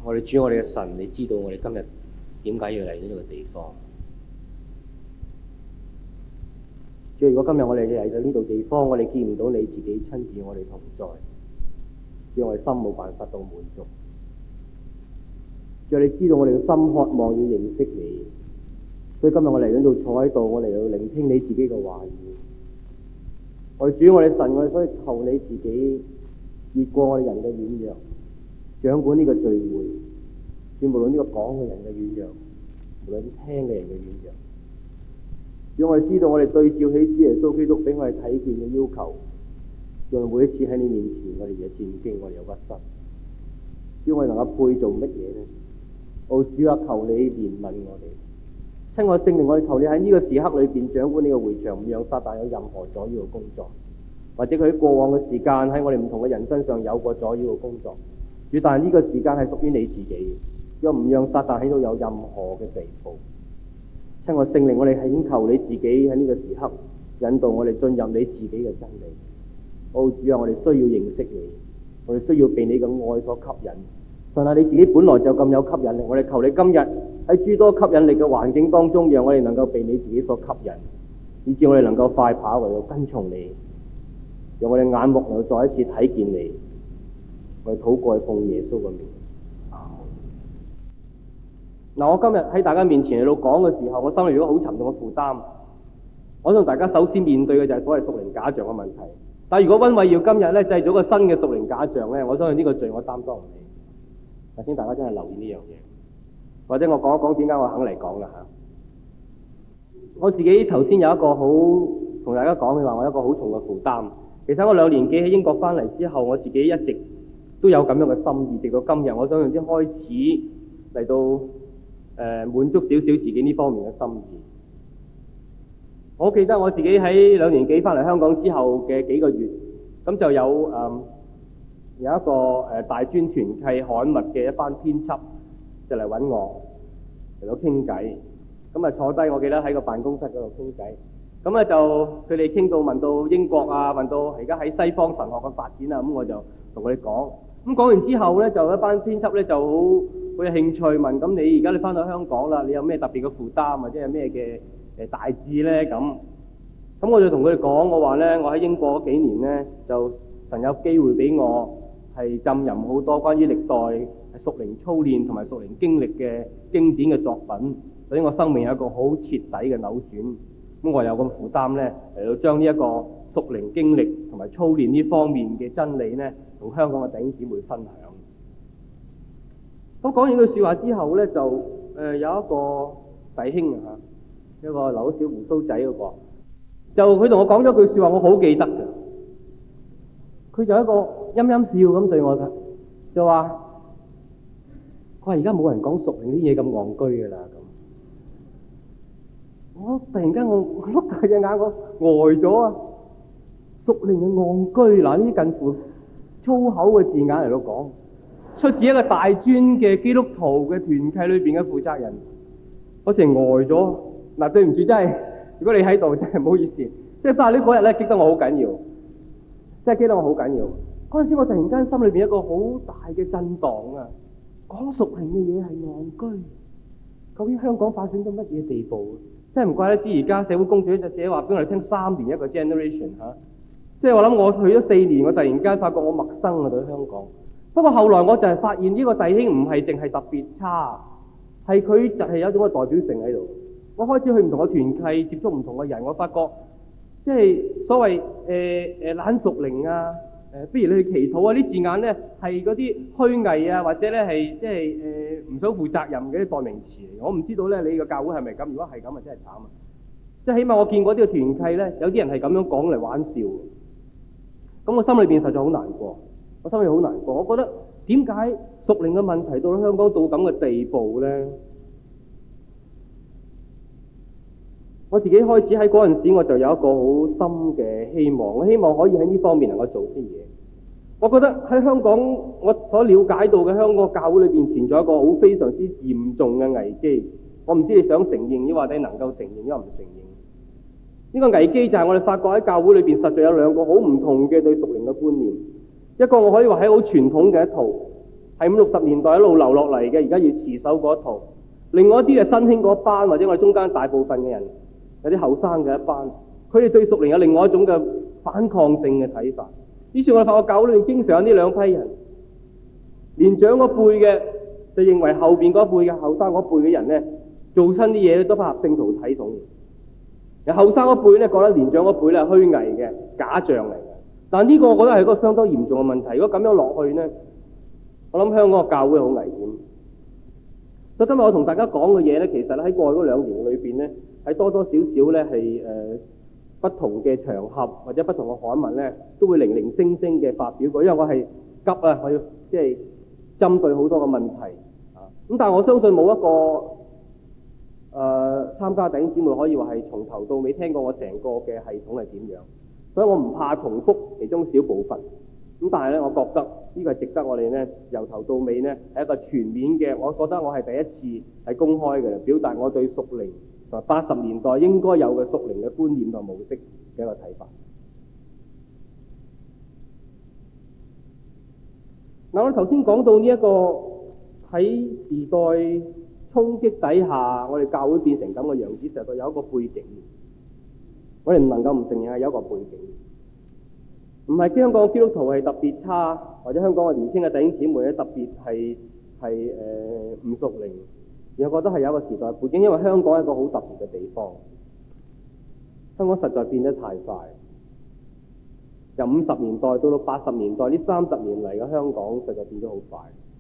我哋主，我哋嘅神，你知道我哋今日點解要嚟到呢個地方？主，如果今日我哋嚟到呢度地方，我哋見唔到你自己親自我哋同在，主，我哋心冇辦法到滿足。主，你知道我哋嘅心渴望要認識你，所以今日我嚟到度坐喺度，我嚟到聆聽你自己嘅話語。我哋主，我哋神，我哋所以求你自己越過我哋人嘅軟弱，掌管呢個聚會，主，無論呢個講嘅人嘅軟弱，無論聽嘅人嘅軟弱，主，我哋知道我哋對照起主耶穌基督俾我哋睇見嘅要求，讓每一次喺你面前，我哋有戰兢，我哋有屈膝，主，我哋能夠配做乜嘢呢？主啊，求你憐憫我哋，親愛聖靈，我哋求你喺呢個時刻裏邊掌管呢個會場，唔讓撒旦有任何阻擾嘅工作，或者佢喺過往嘅時間喺我哋唔同嘅人身上有過阻擾嘅工作。主，但係呢個時間係屬於你自己，又唔讓撒旦喺度有任何嘅地步。親愛聖靈，我哋係請求你自己喺呢個時刻引導我哋進入你自己嘅真理。主啊，我哋需要認識你，我哋需要被你嘅愛所吸引。神啊，你自己本來就咁有吸引力，我哋求你今日喺諸多吸引力嘅環境當中，讓我哋能夠被你自己所吸引，以致我哋能夠快跑為到跟從你，讓我哋眼目能夠再一次睇見你。我哋禱告係奉耶穌嘅名。嗱，我今日喺大家面前嚟到講嘅時候，我心裏如果好沉重嘅負擔，我想大家首先面對嘅就係所謂屬靈假象嘅問題。但係如果溫偉耀今日咧製造個新嘅屬靈假象咧，我相信呢個罪我擔當唔起。但請大家真係留意呢樣嘢，或者我講一講點解我肯嚟講啦嚇。我自己頭先有一個好同大家講嘅話，我有一個好重嘅負擔。其實我2年幾喺英國翻嚟之後，我自己一直都有咁樣嘅心意，直到今日，我相信先開始嚟到滿足少少自己呢方面嘅心意。我記得我自己喺2年幾翻嚟香港之後嘅幾個月，咁就有一個大專團契刊物嘅一班編輯就嚟揾我嚟到傾偈，咁啊坐低，我記得喺個辦公室嗰度傾偈，咁咧就佢哋傾到問到英國啊，問到而家喺西方神學嘅發展啊，咁我就同佢哋講，咁講完之後咧，就一班編輯咧就好有興趣問，咁你而家你翻到香港啦，你有咩特別嘅負擔或者係咩嘅大志咧？咁我就同佢哋講，我話咧，我喺英國嗰幾年咧，就神有機會俾我係浸淫好多關於歷代屬靈操練同埋屬靈經歷嘅經典嘅作品，所以我生命有一個好徹底嘅扭轉。咁我有個負擔咧，嚟到將呢一個屬靈經歷同埋操練呢方面嘅真理咧，同香港嘅弟兄姊妹分享。咁講完句説話之後咧，就有一個弟兄啊，一個留咗小鬍鬚仔嗰個，就佢同我講咗句説話，我好記得嘅。佢就一個陰陰笑咁對我嘅，就話：佢話而家冇人講屬靈啲嘢咁戇居㗎啦咁。我突然間我碌大隻眼，我呆咗啊！屬靈嘅戇居，嗱呢啲近乎粗口嘅字眼嚟到講，出自一個大專嘅基督徒嘅團契裏邊嘅負責人，我成呆咗。嗱，對唔住，真係如果你喺度，真係唔好意思。即係但係呢嗰日咧，激得我好緊要。真係記得我好緊要，嗰陣時我突然間心裏邊一個好大嘅震盪啊！講屬靈嘅嘢係戇居，究竟香港發展到乜嘢地步？真係唔怪得知而家社會公眾就寫話俾我哋聽3年一個 generation 嚇，即係我諗我去咗4年，我突然間發覺我陌生啊對香港。不過後來我就係發現呢個弟兄唔係淨係特別差，係佢就係有一種嘅代表性喺度。我開始去唔同嘅團契，接觸唔同嘅人，我發覺。即係所謂懶屬靈啊，不如你去祈禱啊，啲字眼咧係嗰啲虛偽啊，或者咧係即係唔想負責任嘅啲代名詞嚟。我唔知道咧，你個教會係咪咁？如果係咁啊，真係慘啊！即係起碼我見過呢個團契咧，有啲人係咁樣講嚟玩笑。咁我心裏邊實在好難過，我心裏好難過。我覺得點解屬靈嘅問題到咗香港到咁嘅地步咧？我自己開始喺嗰陣時，我就有一個好深嘅希望，我希望可以喺呢方面能夠做啲嘢。我覺得喺香港，我所了解到嘅香港教會裏邊存在一個好非常之嚴重嘅危機。我唔知你想承認，抑或者能夠承認，抑或唔承認。呢個危機就係我哋發覺喺教會裏邊實在有2個好唔同嘅對屬靈嘅觀念。一個我可以話係好傳統嘅一套， 係五六十年代一路流落嚟嘅，而家要持守嗰一套。另外一啲係新興嗰班，或者我哋中間大部分嘅人，有啲後生嘅一班，佢哋對屬靈有另外一種嘅反抗性嘅睇法。於是我哋發覺教會裏面經常有呢兩批人，年長嗰輩嘅就認為後邊嗰輩嘅後生嗰輩嘅人咧，做親啲嘢都不合聖徒體統。有後生嗰輩咧覺得年長嗰輩咧係虛偽嘅假象嚟嘅。但呢個我覺得係一個相當嚴重嘅問題。如果咁樣落去咧，我諗香港嘅教會好危險。所以今日我同大家講嘅嘢咧，其實喺過去嗰2年裏邊咧，係多多少少咧係不同嘅場合或者不同嘅刊物咧，都會零零星星嘅發表過。因為我係急啊，我要即係針對好多嘅問題啊。咁但係我相信冇一個參加弟兄姊妹可以話係從頭到尾聽過我成個嘅系統係點樣，所以我唔怕重複其中小部分。咁但係咧，我覺得呢個係值得我哋咧由頭到尾咧係一個全面嘅。我覺得我係第一次係公開嘅，表達我對屬靈同埋80年代應該有嘅屬靈嘅觀念同模式嘅一個睇法。嗱，我頭先講到呢一個喺時代衝擊底下，我哋教會變成咁嘅樣子，實在有一個背景。我哋唔能夠唔承認係有一個背景。唔係香港基督徒係特別差，或者香港嘅年輕嘅弟兄姊妹咧特別係唔屬靈，而我覺得係有一個時代背景，因為香港係一個好特別嘅地方。香港實在變得太快，由50年代到80年代呢30年嚟嘅香港實在變咗好快。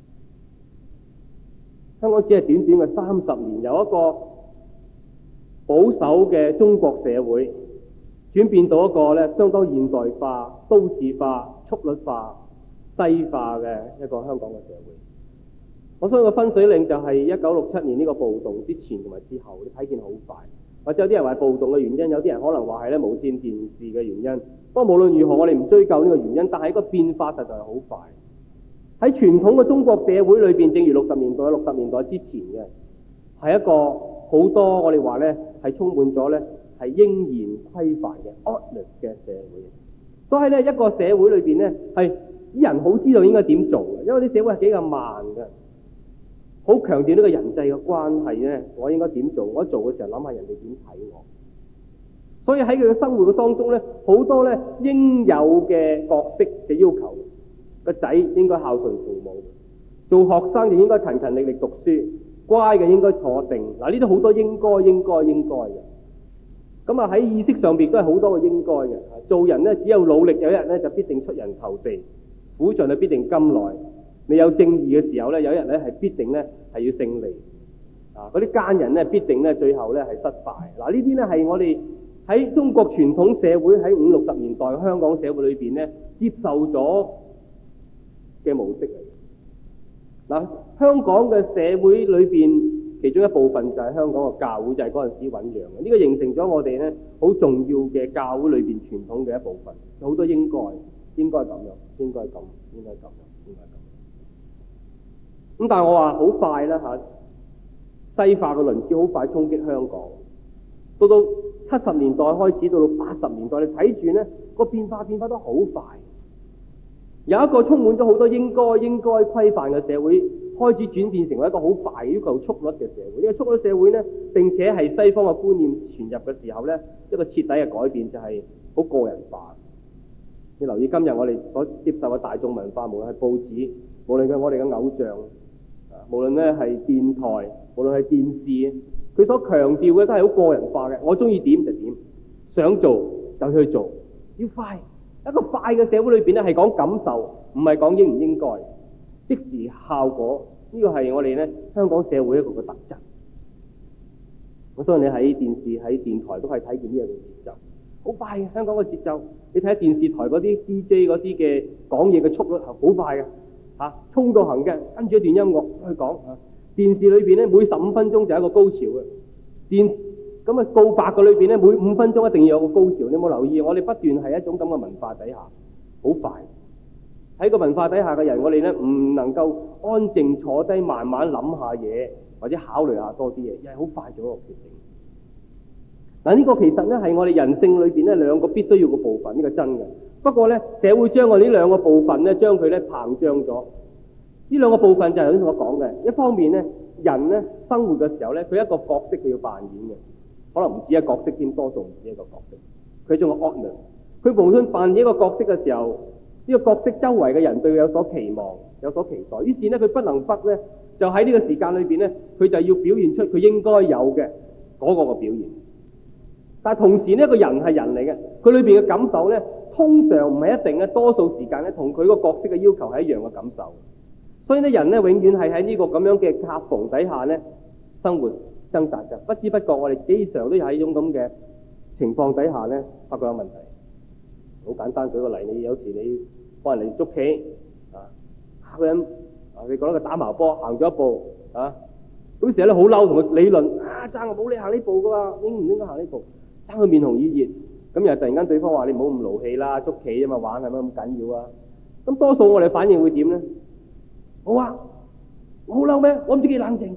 香港只係短短嘅30年，由一個保守嘅中國社會轉變到一個咧相當現代化、都市化、速率化、西化嘅一個香港嘅社會。我相信個分水嶺就係1967年呢個暴動之前同埋之後，你睇見好快。或者有啲人話暴動嘅原因，有啲人可能話係咧無線電視嘅原因。不過無論如何，我哋唔追究呢個原因，但係個變化實在係好快。喺傳統嘅中國社會裏邊，正如60年代之前嘅，係一個好多我哋話咧係充滿咗咧係應然規範嘅 order 嘅社會。所以咧一個社會裏邊咧係啲人好知道應該點做嘅，因為啲社會係幾咁慢嘅，好強調呢個人際嘅關係咧，我應該點做？我做嘅時候諗下人哋點睇我。所以喺佢嘅生活嘅當中咧，好多咧應有嘅角色嘅要求。個仔應該孝順父母，做學生就應該勤勤力力讀書，乖嘅應該坐定。嗱，呢啲好多應該嘅。咁啊喺意識上邊都係好多嘅應該嘅。做人咧只有努力，有一日咧就必定出人頭地，苦盡就必定甘來。你有正義嘅時候咧，有一日咧係必定咧係要勝利。啊，嗰啲奸人咧必定咧最後咧係失敗。嗱，呢啲咧係我哋喺中國傳統社會喺50、60年代香港社會裏邊咧接受咗嘅模式嚟。嗱，香港嘅社會裏邊，其中一部分就係香港嘅教會，就係嗰陣時醞釀嘅。呢個形成咗我哋咧好重要嘅教會裏邊傳統嘅一部分。有好多應該咁樣，應該咁。咁但係我話好快啦嚇，西化嘅輪子好快衝擊香港。到70年代開始，到80年代，你睇住咧個變化得好快。有一個充滿咗好多應該規範嘅社會，開始轉變成為一個好快要求速率嘅社會。呢個速率社會呢，並且係西方嘅觀念傳入嘅時候呢，一個徹底嘅改變就係好個人化。你留意今日我哋所接受嘅大眾文化，無論係報紙，無論係我哋嘅偶像，無論咧係電台，無論係電視，佢所強調嘅都係好個人化嘅。我中意點就點，想做就去做，要快。一個快嘅社會裏邊咧，係講感受，唔係講應唔應該，即時效果。呢個係我哋咧香港社會一個嘅特質。我相信你喺電視、喺電台都係睇見呢樣嘅節奏，好快嘅香港嘅節奏。你睇下電視台嗰啲 DJ 嗰啲嘅講嘢嘅速率係好快嘅，衝到行嘅，跟住一段音樂去講。電視裏邊咧每15分鐘就係一個高潮嘅，咁啊告白嘅裏邊咧，每5分鐘一定要有個高潮。你有冇留意？我哋不斷係一種咁嘅文化底下，好快。喺個文化底下嘅人，我哋咧唔能夠安靜坐低慢慢諗下嘢，或者考慮下多啲嘢，又係好快做一個決定。嗱，呢個其實咧係我哋人性裏邊咧兩個必須要嘅部分，呢個真嘅。不過咧社會將我哋呢兩個部分咧將佢咧膨脹咗。呢呢兩個部分就係頭先我講嘅，一方面咧，人咧生活嘅時候咧，佢一個角色佢要扮演嘅，可能唔止一個角色添，多數唔止一個角色。佢仲有 honor， 佢無論扮演一個角色嘅時候，呢個角色周圍嘅人對佢有所期望、有所期待，於是咧佢不能不咧，就喺呢個時間裏邊咧，佢就要表現出佢應該有嘅嗰個嘅表現。但係同時呢，一個人係人嚟嘅，佢裏邊嘅感受咧，通常唔係一定嘅，多數時間咧同佢個角色嘅要求係一樣嘅感受。所以咧，人咧永遠係喺呢個咁樣嘅夾縫底下咧生活掙扎嘅，不知不覺我哋經常都有喺呢種咁嘅情況底下咧發覺有問題。好簡單，舉個例，你有時你幫人哋捉棋啊，嚇個人啊，你覺得佢打矛波行咗一步啊，嗰時候咧好嬲，同佢理論啊，爭我冇你行呢步噶嘛，應唔應該行呢步？爭佢面紅耳熱，咁又突然間對方話你唔好咁勞氣啦，捉棋啊嘛，玩係咪咁緊要啊？咁多數我哋反應會點咧？好啊，我好嬲咩？我唔知幾冷靜。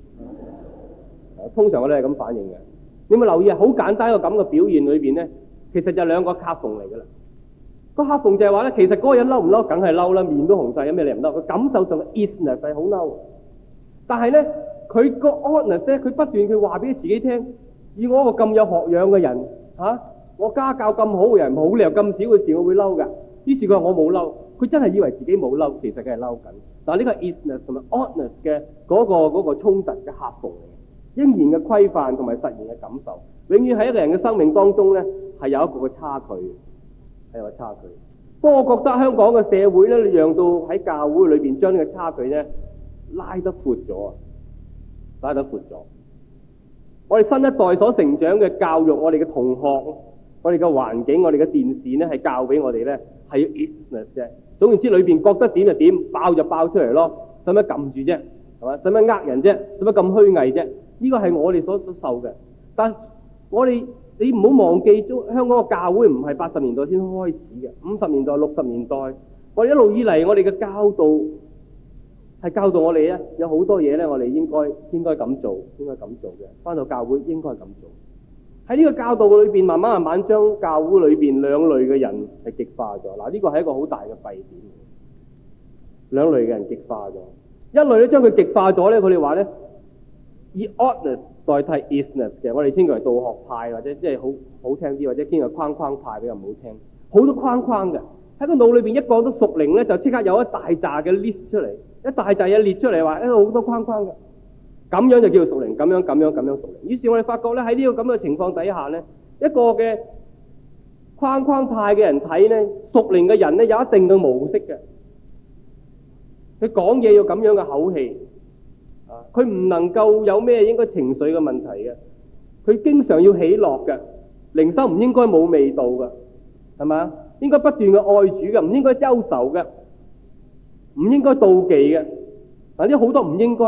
通常我哋係咁反應嘅。你有冇留意啊？好簡單一個咁嘅表現裏邊咧，其實就兩個夾縫嚟噶啦。個夾縫就係話咧，其實嗰個人嬲唔嬲，梗係嬲啦，面都紅晒，有咩你唔嬲？佢感受上嘅 isness 係好嬲，但係咧佢個 honest 咧，佢不斷佢話俾自己聽，以我一個咁有學養嘅人嚇，我家教咁好嘅人，冇理由咁少嘅事我會嬲㗎。於是佢話我冇嬲，佢真係以為自己冇嬲，其實佢係嬲緊。但係呢個 isness 同埋 honest 嘅嗰個衝突嘅夾縫嚟嘅，應然嘅規範同埋實現嘅感受，永遠喺一個人嘅生命當中咧係有一個嘅差距，係有個差距。不過我覺得香港嘅社會咧，讓到喺教會裏邊將呢個差距咧拉得闊咗啊，拉得闊咗。我哋新一代所成長嘅教育，我哋嘅同學，我哋嘅環境，我哋嘅電視咧，係教俾我哋咧係要 isness 啫。總言之，裏邊覺得點就點，爆就爆出嚟咯，使乜撳住啫？係嘛？使乜呃人啫？使乜咁虛偽啫？呢個係我哋所受嘅。但我哋你唔好忘記咗，香港嘅教會唔係80年代先開始嘅，50年代、60年代，我哋一路以嚟，我哋嘅教導係教導我哋咧，有好多嘢咧，我哋應該咁做，應該咁做嘅。返到教會應該咁做。喺呢個教導裏邊，慢慢將教會裏邊兩類嘅人係極化咗。嗱，呢個係一個好大嘅弊點。兩類嘅人極化咗，一類咧將佢極化咗咧，佢哋話咧以 honest 代替 isness 嘅，我哋稱佢為道學派，或者即係好聽啲，或者稱佢框框派比較唔好聽。好多框框嘅喺個腦裏邊，一講到屬靈咧，就即刻有一大扎嘅 list 出嚟，一大扎嘢列出嚟，話一個好多框框嘅。咁樣就叫做屬靈，咁樣屬靈。於是我哋發覺咧，喺呢個咁嘅情況底下咧，一個嘅框框派嘅人睇咧，屬靈嘅人咧有一定嘅模式嘅，佢講嘢要咁樣嘅口氣，佢唔能夠有咩應該情緒嘅問題嘅，佢經常要喜樂嘅，靈修唔應該冇味道嘅，係咪？應該不斷嘅愛主嘅，唔應該憂愁嘅，唔應該妒忌嘅，嗱呢好多唔應該。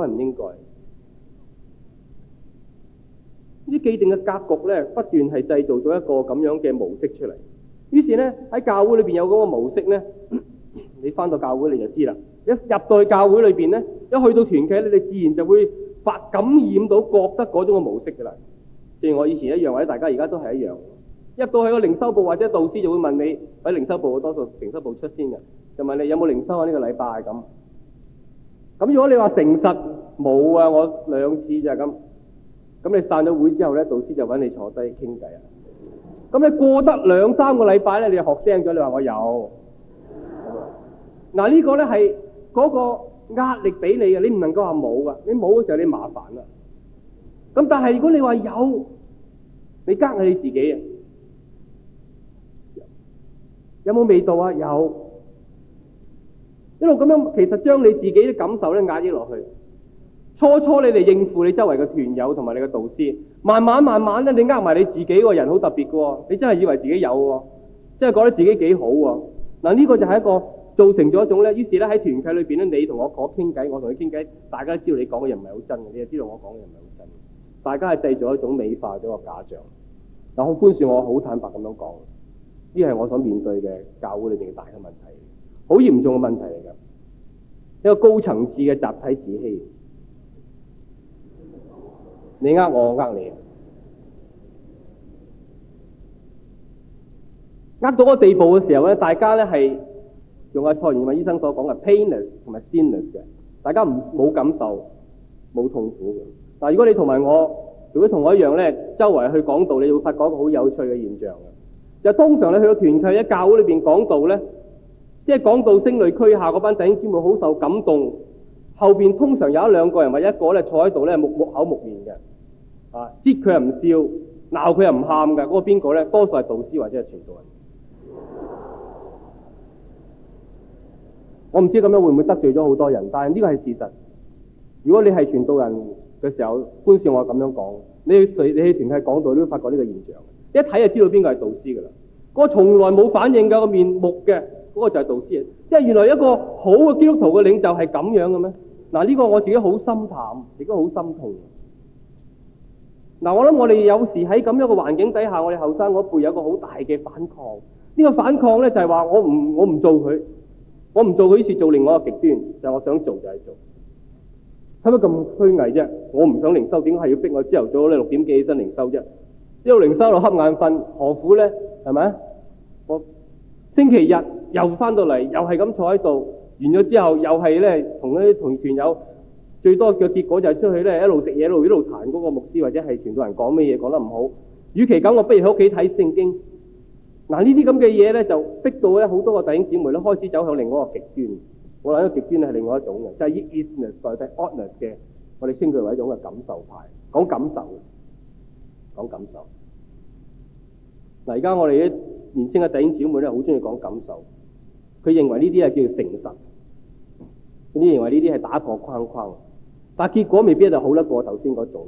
呢啲既定嘅格局咧，不斷係製造咗一個咁樣嘅模式出嚟。於是咧喺教會裏邊有嗰個模式咧，你翻到教會你就知啦。一入到去教會裏邊咧，一去到團契咧，你自然就會感染到覺得嗰種嘅模式噶啦。正如我以前一樣，或者大家而家都係一樣。入到去個靈修部或者導師就會問你，喺靈修部多數靈修部出先嘅，就問你有冇靈修啊？呢個禮拜咁。咁如果你話誠實冇啊，我2次就係咁。咁你散咗會之後咧，導師就揾你坐低傾偈啊。咁你過得2-3個禮拜咧，你就學精咗，你話我有。嗱呢個咧係嗰個壓力俾你嘅，你唔能夠話冇噶，你冇嘅時候你麻煩啦。咁但係如果你話有，你呃係你自己啊。有冇味道啊？有。一路咁樣，其實將你自己嘅感受咧壓抑落去。初你哋應付你周圍嘅團友同埋你嘅導師，慢慢咧，你呃埋你自己個人好特別嘅喎，你真係以為自己有喎，真係覺得自己幾好喎。嗱呢個就係一個造成咗一種咧，於是咧喺團契裏邊咧，你同我講傾偈，我同你傾偈，大家都知道你講嘅嘢唔係好真嘅，你就知道我講嘅嘢唔係好真嘅，大家係製造一種美化咗個假象。嗱，好寬恕我，好坦白咁樣講，呢係我所面對嘅教會裏邊嘅大嘅問題，好嚴重嘅問題嚟㗎，一個高層次嘅集體自欺。你呃我，我呃你，呃到個地步嘅時候咧，大家咧係用蔡元偉醫生所講嘅 painless 同埋 sinless 嘅，大家冇感受冇痛苦嘅。但如果你同埋我，如果同我一樣咧，周圍去講道，你會發覺一個好有趣嘅現象嘅。就通常你去到團契喺教會裏邊講道咧，即係講到聲淚俱下嗰班弟兄姊妹好受感動，後邊通常有一兩個人或一個咧坐喺度咧木口木面嘅，擠佢又唔笑，鬧佢又唔喊嘅，嗰個邊個咧？多數係導師或者係傳道人。我唔知咁樣會唔會得罪咗好多人，但係呢個係事實。如果你係傳道人嘅時候，觀眾我咁樣講，你去團契講道，你都會發覺呢個現象。一睇就知道邊個係導師噶啦。嗰個從來冇反應嘅個面目嘅，嗰個就係導師。即係原來一個好嘅基督徒嘅領袖係咁樣嘅咩？嗱，呢個我自己好心淡，亦都好心痛。嗱，我諗我哋有時喺咁樣嘅環境底下，我哋後生嗰輩有個好大嘅反抗。呢個反抗咧就係話我唔做佢。我唔做佢，於是做另外一個極端，就係我想做就係做，使乜咁虛偽啫？我唔想靈修，點解係要逼我朝頭早咧6點幾起身靈修啫？一路靈修到瞌眼瞓，何苦咧？係咪？我星期日又翻到嚟，又係咁坐喺度，完咗之後又係咧同啲同團友，最多嘅結果就係出去咧一路食嘢，一路彈嗰個牧師或者係傳道人講咩嘢講得唔好，與其咁，我不如喺屋企睇聖經。嗱，呢啲咁嘅嘢咧，就逼到咧好多個弟兄姊妹咧開始走向另外一個極端。我諗呢個極端係另外一種嘅，就係以 isness 代替 oughtness 嘅，我哋稱佢為一種嘅感受派，講感受。嗱，而家我哋啲年輕嘅弟兄姊妹咧，好中意講感受。佢認為呢啲係叫做誠實，呢啲認為呢啲係打破框框，但係結果未必就好得過頭先嗰種。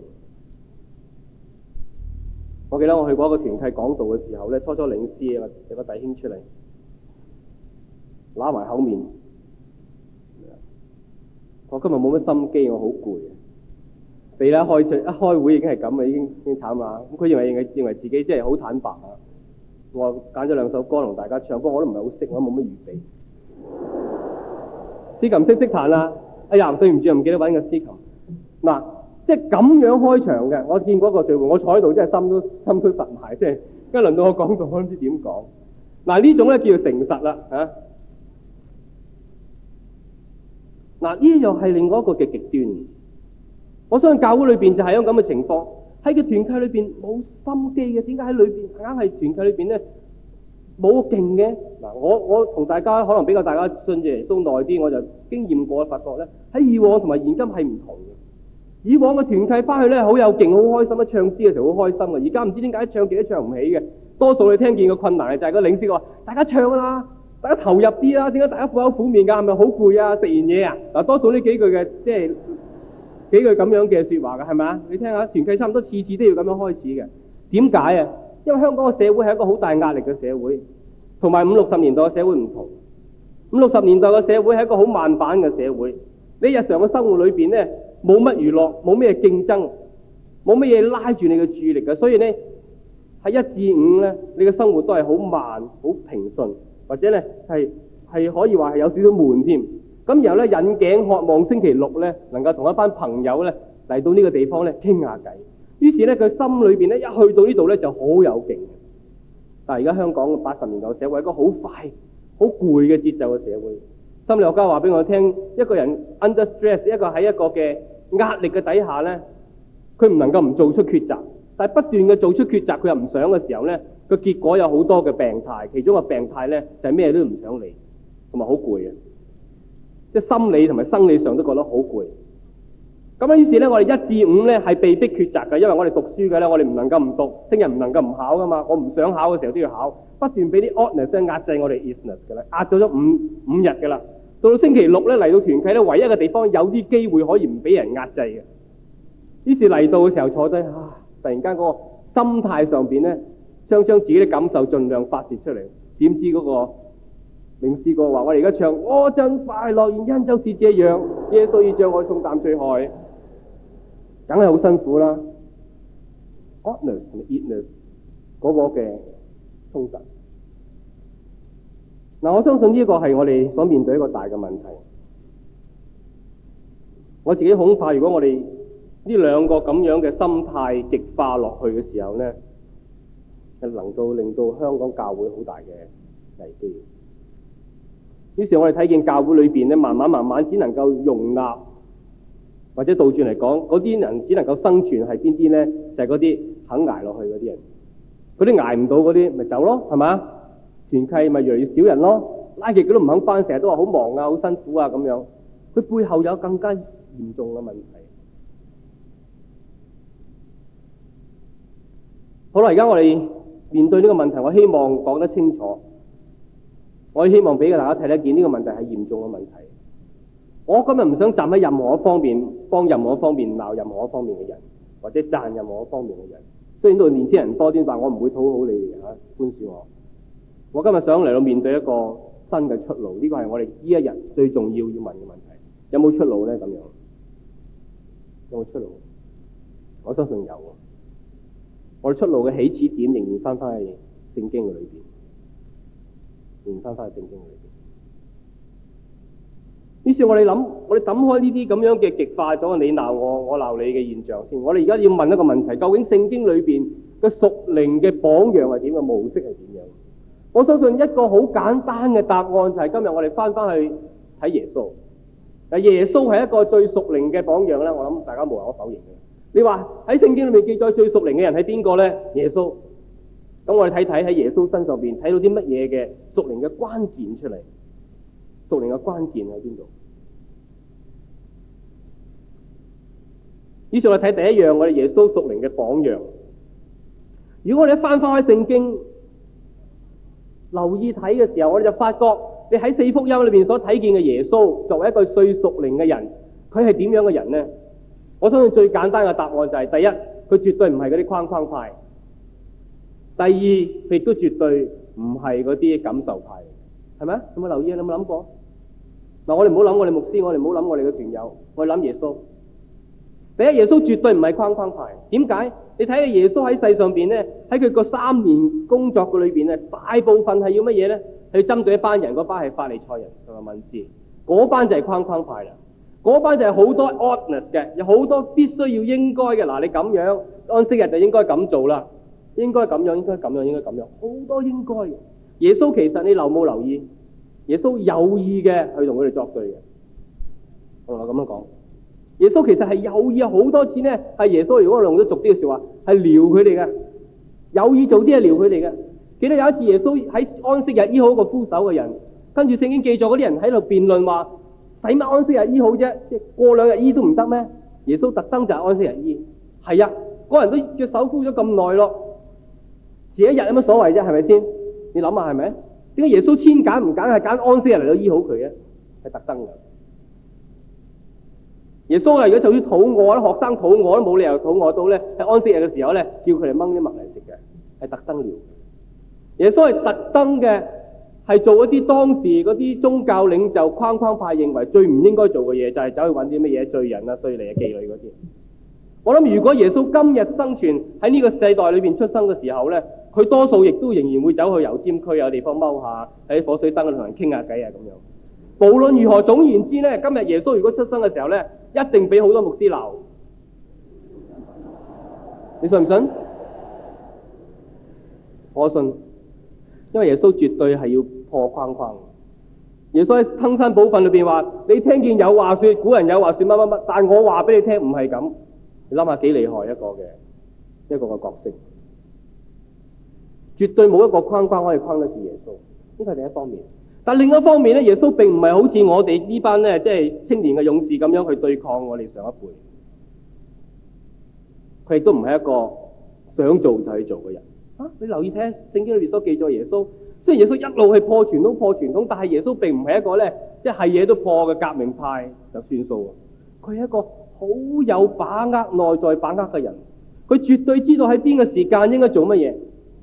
我記得我去過一個團契講道嘅時候咧，初領詩啊，有個弟兄出嚟，揦埋口面，我今日冇乜心機，我好攰啊！死啦！一開會已經係咁啊，已經慘啦。咁佢認為自己真係好坦白啊！我揀咗2首歌同大家唱，不過我都唔係好識，我都冇乜預備。司琴識彈啦！哎呀，對唔住，唔記得揾個司琴。嗱。即係咁樣開場嘅，我見過一個聚會，我坐喺度真係心都實埋，即係一輪到我講到，我都唔知點講。嗱，呢種咧叫做誠實啦，嗱，呢又係另外一個嘅極端。我相信教會裏邊就係有咁嘅情況，喺個團契裏邊冇心機嘅，點解喺裏邊硬係團契裏邊咧冇勁嘅？嗱，我同大家可能比較大家信耶穌耐啲，我就經驗過發覺咧，喺以往同埋現今係唔同嘅。以往嘅團契翻去咧好有勁，好開心，一唱詩嘅時候好開心嘅。而家唔知點解唱極都唱唔起嘅。多數你聽見嘅困難就係個領詩話：大家唱啦，大家投入啲啦。點解大家苦口苦面㗎？係咪好攰啊？食完嘢啊？嗱，多數呢幾句嘅即係幾句咁樣嘅説話㗎，係咪啊？你聽下團契差唔多次次都要咁樣開始嘅。點解啊？因為香港嘅社會係一個好大壓力嘅社會，同埋50、60年代嘅社會唔同。50、60年代嘅社會係一個好慢板嘅社會。你日常嘅生活裏邊咧，冇乜娛樂，冇咩競爭，冇乜嘢拉住你嘅注意力嘅，所以呢，喺1至5咧，你嘅生活都係好慢、好平順，或者咧係可以話係有少少悶添。咁然後咧引頸渴望星期6咧能夠同一班朋友咧嚟到呢個地方咧傾下偈。於是咧佢心裏邊咧一去到呢度咧就好有勁。但係而家香港嘅80年代社會係一個好快、好攰嘅節奏嘅社會。心理學家話俾我聽，一個人 under stress， 一個喺一個嘅壓力嘅底下呢，佢唔能夠唔做出抉擇，但係不斷嘅做出抉擇，佢又唔想嘅時候呢，個結果有好多嘅病態，其中個病態呢，就係咩都唔想理，同埋好攰嘅，即係心理同埋生理上都覺得好攰。咁樣於是呢，我哋1至5呢係被逼抉擇嘅，因為我哋讀書嘅呢，我哋唔能夠唔讀，聽日唔能夠唔考噶嘛，我唔想考嘅時候都要考，不斷俾啲 oughtness 壓制我哋 isness 嘅啦，壓咗5日嘅啦。到星期6咧嚟到團契咧，唯一嘅地方有啲機會可以唔俾人壓制嘅。於是嚟到嘅時候坐低，突然間嗰個心態上邊咧，將自己嘅感受盡量發泄出嚟。點知嗰個領詩歌話：我哋而家唱我真快樂，原因就是這樣，耶穌已將我重擔除開，梗係好辛苦啦。oughtness 同 isness 嗰個嘅衝突。嗱，我相信呢一個係我哋所面對一個大嘅問題。我自己恐怕，如果我哋呢兩個咁樣嘅心態極化落去嘅時候呢，係能夠令到香港教會好大嘅危機。 於是我哋睇見教會裏邊咧，慢慢只能夠容納，或者倒轉嚟講，嗰啲人只能夠生存係邊啲咧？就係嗰啲肯捱落去嗰啲人。嗰啲捱唔到嗰啲咪走咯，係嘛？團契咪越嚟越少人咯，拉極佢都唔肯返，成日都話好忙啊、好辛苦啊咁樣。佢背後有更加嚴重嘅問題。好啦，而家我哋面對呢個問題，我希望講得清楚。我希望俾大家睇得見呢個問題係嚴重嘅問題。我今日唔想站喺任何一方面幫任何一方面鬧任何一方面嘅人，或者讚任何一方面嘅人。雖然到年輕人多啲，但我唔會討好你哋嚇，寬恕我。我今日想嚟到面對一個新嘅出路，呢個係我哋呢一日最重要要問嘅問題。有冇出路咧？咁樣有冇出路？我相信有。我哋出路嘅起始點仍然翻去聖經嘅裏邊，仍然翻去聖經嘅裏邊。於是我哋諗，我哋抌開呢啲咁樣嘅極化咗你鬧我，我鬧你嘅現象先。我哋而家要問一個問題：究竟聖經裏邊嘅屬靈嘅榜樣係點嘅？模式係點樣？我相信一個好簡單嘅答案就係今日我哋翻去睇耶穌。但耶穌係一個最屬靈嘅榜樣咧，我諗大家無可否認嘅。你話喺聖經裏面記載最屬靈嘅人係邊個咧？耶穌。咁我哋睇睇喺耶穌身上邊睇到啲乜嘢嘅屬靈嘅關鍵出嚟？屬靈嘅關鍵喺邊度？以上我睇第一樣，我哋耶穌屬靈嘅榜樣。如果我哋一翻開聖經，留意睇嘅時候，我哋就發覺你喺四福音裏邊所睇見嘅耶穌，作為一個最屬靈嘅人，佢係點樣嘅人呢？我相信最簡單嘅答案就係：第一，佢絕對唔係嗰啲框框派；第二，佢亦都絕對唔係嗰啲感受派，係咪？有冇留意？你有冇諗過？嗱，我哋唔好諗我哋牧師，我哋唔好諗我哋嘅團友，我哋諗耶穌。第一，耶穌絕對唔係框框派。點解？你睇下耶穌喺世上邊咧，喺佢個3年工作嘅裏邊咧，大部分係要乜嘢咧？係針對一班人，嗰班係法利賽人同埋文士，嗰班就係框框派啦。嗰班就係好多 ordinance 嘅，有好多必須要應該嘅。嗱，你咁樣安息日就應該咁做啦，應該咁樣，應該咁樣，應該咁樣，好多應該嘅。耶穌其實你留冇留意？耶穌有意嘅去同佢哋作對嘅。我咁樣講。耶穌其實係有意，好多次呢係耶穌，如果我用咗俗啲嘅說話，係撩佢哋嘅，有意做啲係撩佢哋嘅。記得有一次耶穌喺安息日醫好一個枯手嘅人，跟住聖經記載嗰啲人喺度辯論話，使乜安息日醫好啫？即係過2日醫都唔得咩？耶穌特登就係安息日醫。係啊，嗰人都隻手枯咗咁耐咯，遲一日有乜所謂啫？係咪先？你諗下係咪？點解耶穌千揀唔揀係揀安息日嚟到醫好佢嘅？係特登嘅。耶穌啊，如果就算肚餓咧，學生肚餓都冇理由肚餓到咧，喺安息日嘅時候咧，叫佢哋掹啲麥嚟食嘅，係特登撩。耶穌係特登嘅，係做一啲當時嗰啲宗教領袖框框派認為最唔應該做嘅嘢，就係走去揾啲乜嘢罪人啊、稅吏啊、妓女嗰啲。我諗如果耶穌今日生存喺呢個世代裏邊出生嘅時候咧，佢多數亦都仍然會走去油尖區有地方踎下，喺火水燈度同人傾下偈啊咁樣。無論如何，總言之咧，今日耶穌如果出生嘅時候咧，一定俾好多牧師鬧。你信唔信？我信，因為耶穌絕對係要破框框。耶穌喺登山寶訓裏邊話：你聽見有話說，古人有話說乜乜乜，但我話俾你聽唔係咁。你諗下幾厲害一個嘅角色，絕對冇一個框框可以框得住耶穌。呢個係第一方面。但另一方面咧，耶穌並唔係好似我哋呢班咧，即係青年嘅勇士咁樣去對抗我哋上一輩。佢亦都唔係一個想做就去做嘅人。你留意聽聖經裏邊所記載耶穌，雖然耶穌一路係破傳統，但係耶穌並唔係一個咧，即係嘢都破嘅革命派就算數。佢係一個好有把握、內在把握嘅人。佢絕對知道喺邊個時間應該做乜嘢。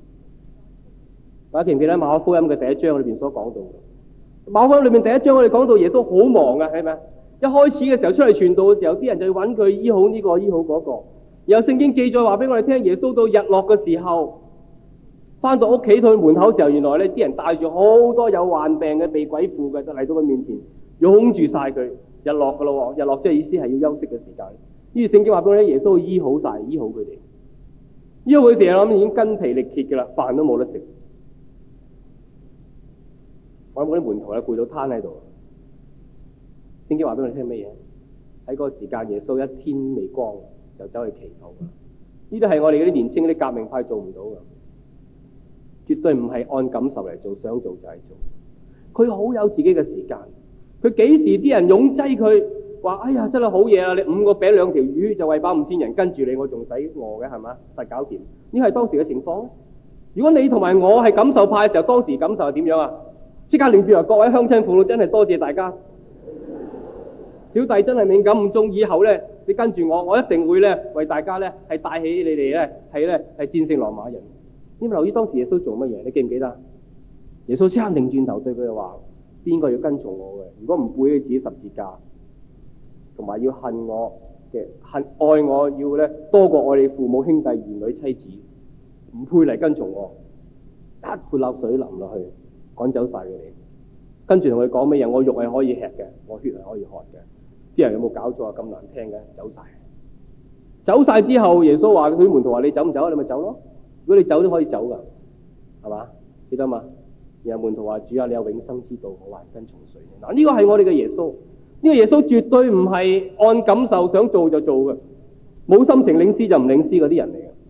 大家記唔記得馬可福音嘅第1章裏邊所講到嘅？馬可福音裏面第1章我哋講到耶穌好忙嘅，係咪？一開始嘅時候出嚟傳道嘅時候，啲人就要揾佢醫好呢個醫好嗰個。然後聖經記載話俾我哋聽，耶穌到日落嘅時候，翻到屋企到門口嘅時候，原來呢啲人帶住好多有患病嘅、被鬼附嘅，就嚟到佢面前，擁住晒佢。日落噶咯，日落即係意思係要休息嘅時間。於是聖經話俾我哋聽，耶穌醫好晒，醫好佢哋。醫好佢哋，我諗已經筋疲力竭噶啦，飯都冇得食。 我諗嗰啲門徒咧攰到攤喺度。聖經話俾我哋聽乜嘢？喺嗰個時間，耶穌一天未光就走去祈禱。呢啲係我哋嗰啲年青嗰啲革命派做唔到嘅，絕對唔係按感受嚟做，想做就係做。佢好有自己嘅時間，佢幾時啲人擁擠佢話：哎呀，真係好嘢啊！你5個餅2條魚就餵飽5000人，跟住你我仲使餓嘅係嘛？實搞掂。呢係當時嘅情況。如果你同埋我係感受派嘅時候，當時感受係點樣啊？即刻連住話各位鄉親父老，真係多謝大家。小弟真係敏感唔中，以後咧你跟住我一定會咧為大家咧係帶起你哋咧係戰勝羅馬人。你咪留意當時耶穌做乜嘢？你記唔記得？耶穌即刻擰轉頭對佢哋話：邊個要跟從我嘅？如果唔背起自己十字架，同埋要恨我嘅愛我，要咧多過愛你父母兄弟兒女妻子，唔配嚟跟從我。一潑冷水淋落去，趕走晒佢哋。跟住同佢講乜嘢？我肉係可以吃嘅，我血係可以喝嘅。啲人有冇搞錯啊？咁難聽嘅，走晒之後，耶穌話：佢啲門徒話：你走唔走啊？你咪走咯。如果你走都可以走噶，係嘛？記得嘛？然後門徒話：主啊，你有永生之道，我還跟從誰呢？嗱，呢個係我哋嘅耶穌。呢個耶穌絕對唔係按感受想做就做嘅，冇心情領詩就唔領詩嗰啲人嚟嘅。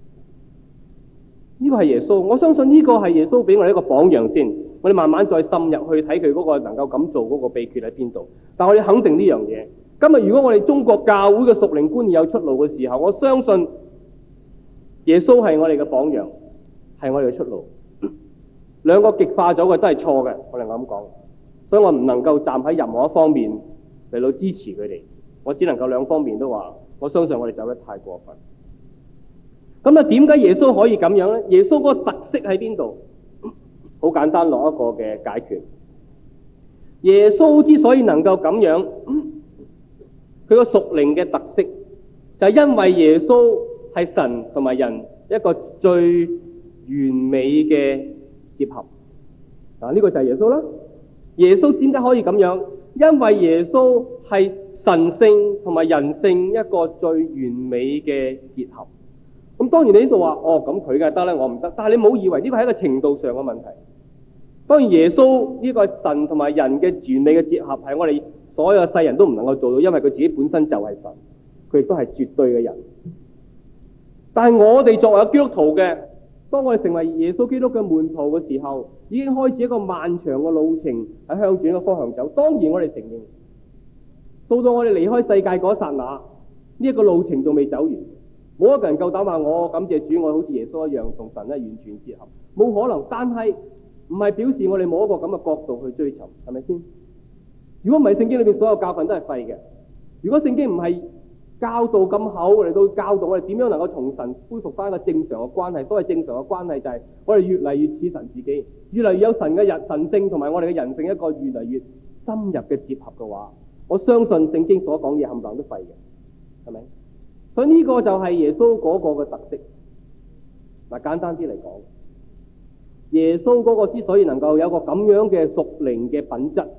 呢個係耶穌，我相信呢個係耶穌俾我哋一個榜樣先。我哋慢慢再深入去睇佢嗰個能夠咁做嗰個秘訣喺邊度。但我哋肯定呢樣嘢。今日如果我哋中國教會嘅屬靈觀念有出路嘅時候，我相信耶穌係我哋嘅榜樣，係我哋嘅出路。兩個極化咗嘅都係錯嘅，我哋咁講。所以我唔能夠站喺任何一方面嚟到支持佢哋，我只能夠兩方面都話，我相信我哋走得太過分。咁啊，點解耶穌可以咁樣呢？耶穌嗰個特色喺邊度？好簡單，落一個嘅解決。耶穌之所以能夠咁樣，佢個屬靈嘅特色就係因為耶穌係神同埋人一個最完美嘅結合。嗱，呢個就係耶穌啦。耶穌點解可以咁樣？因為耶穌係神性同埋人性一個最完美嘅結合。咁當然你呢度話，咁佢梗係得咧，我唔得。但係你唔好以為呢個係一個程度上嘅問題。當然耶穌呢個神同埋人嘅完美嘅結合係我哋所有世人都唔能夠做到，因為佢自己本身就係神，佢亦都係絕對嘅人。但係我哋作為基督徒嘅，當我哋成為耶穌基督嘅門徒嘅時候，已經開始一個漫長嘅路程喺向住一個方向走。當然我哋承認，到我哋離開世界嗰一剎那，呢一個路程仲未走完。冇一個人夠膽話我感謝主，我好似耶穌一樣同神咧完全結合，冇可能。但係唔係表示我哋冇一個咁嘅角度去追尋，係咪先？如果唔係聖經裏邊所有教訓都係廢嘅，如果聖經唔係教導咁厚嚟到教導我哋點樣能夠同神恢復翻一個正常嘅關係，所謂正常嘅關係就係我哋越嚟越似神自己，越嚟越有神嘅神性同埋我哋嘅人性一個越嚟越深入嘅結合嘅話，我相信聖經所講嘢冚唪唥都廢嘅，係咪？所以呢個就係耶穌嗰個嘅特色。嗱，簡單啲嚟講，耶穌嗰個之所以能夠有個咁樣嘅屬靈嘅品質，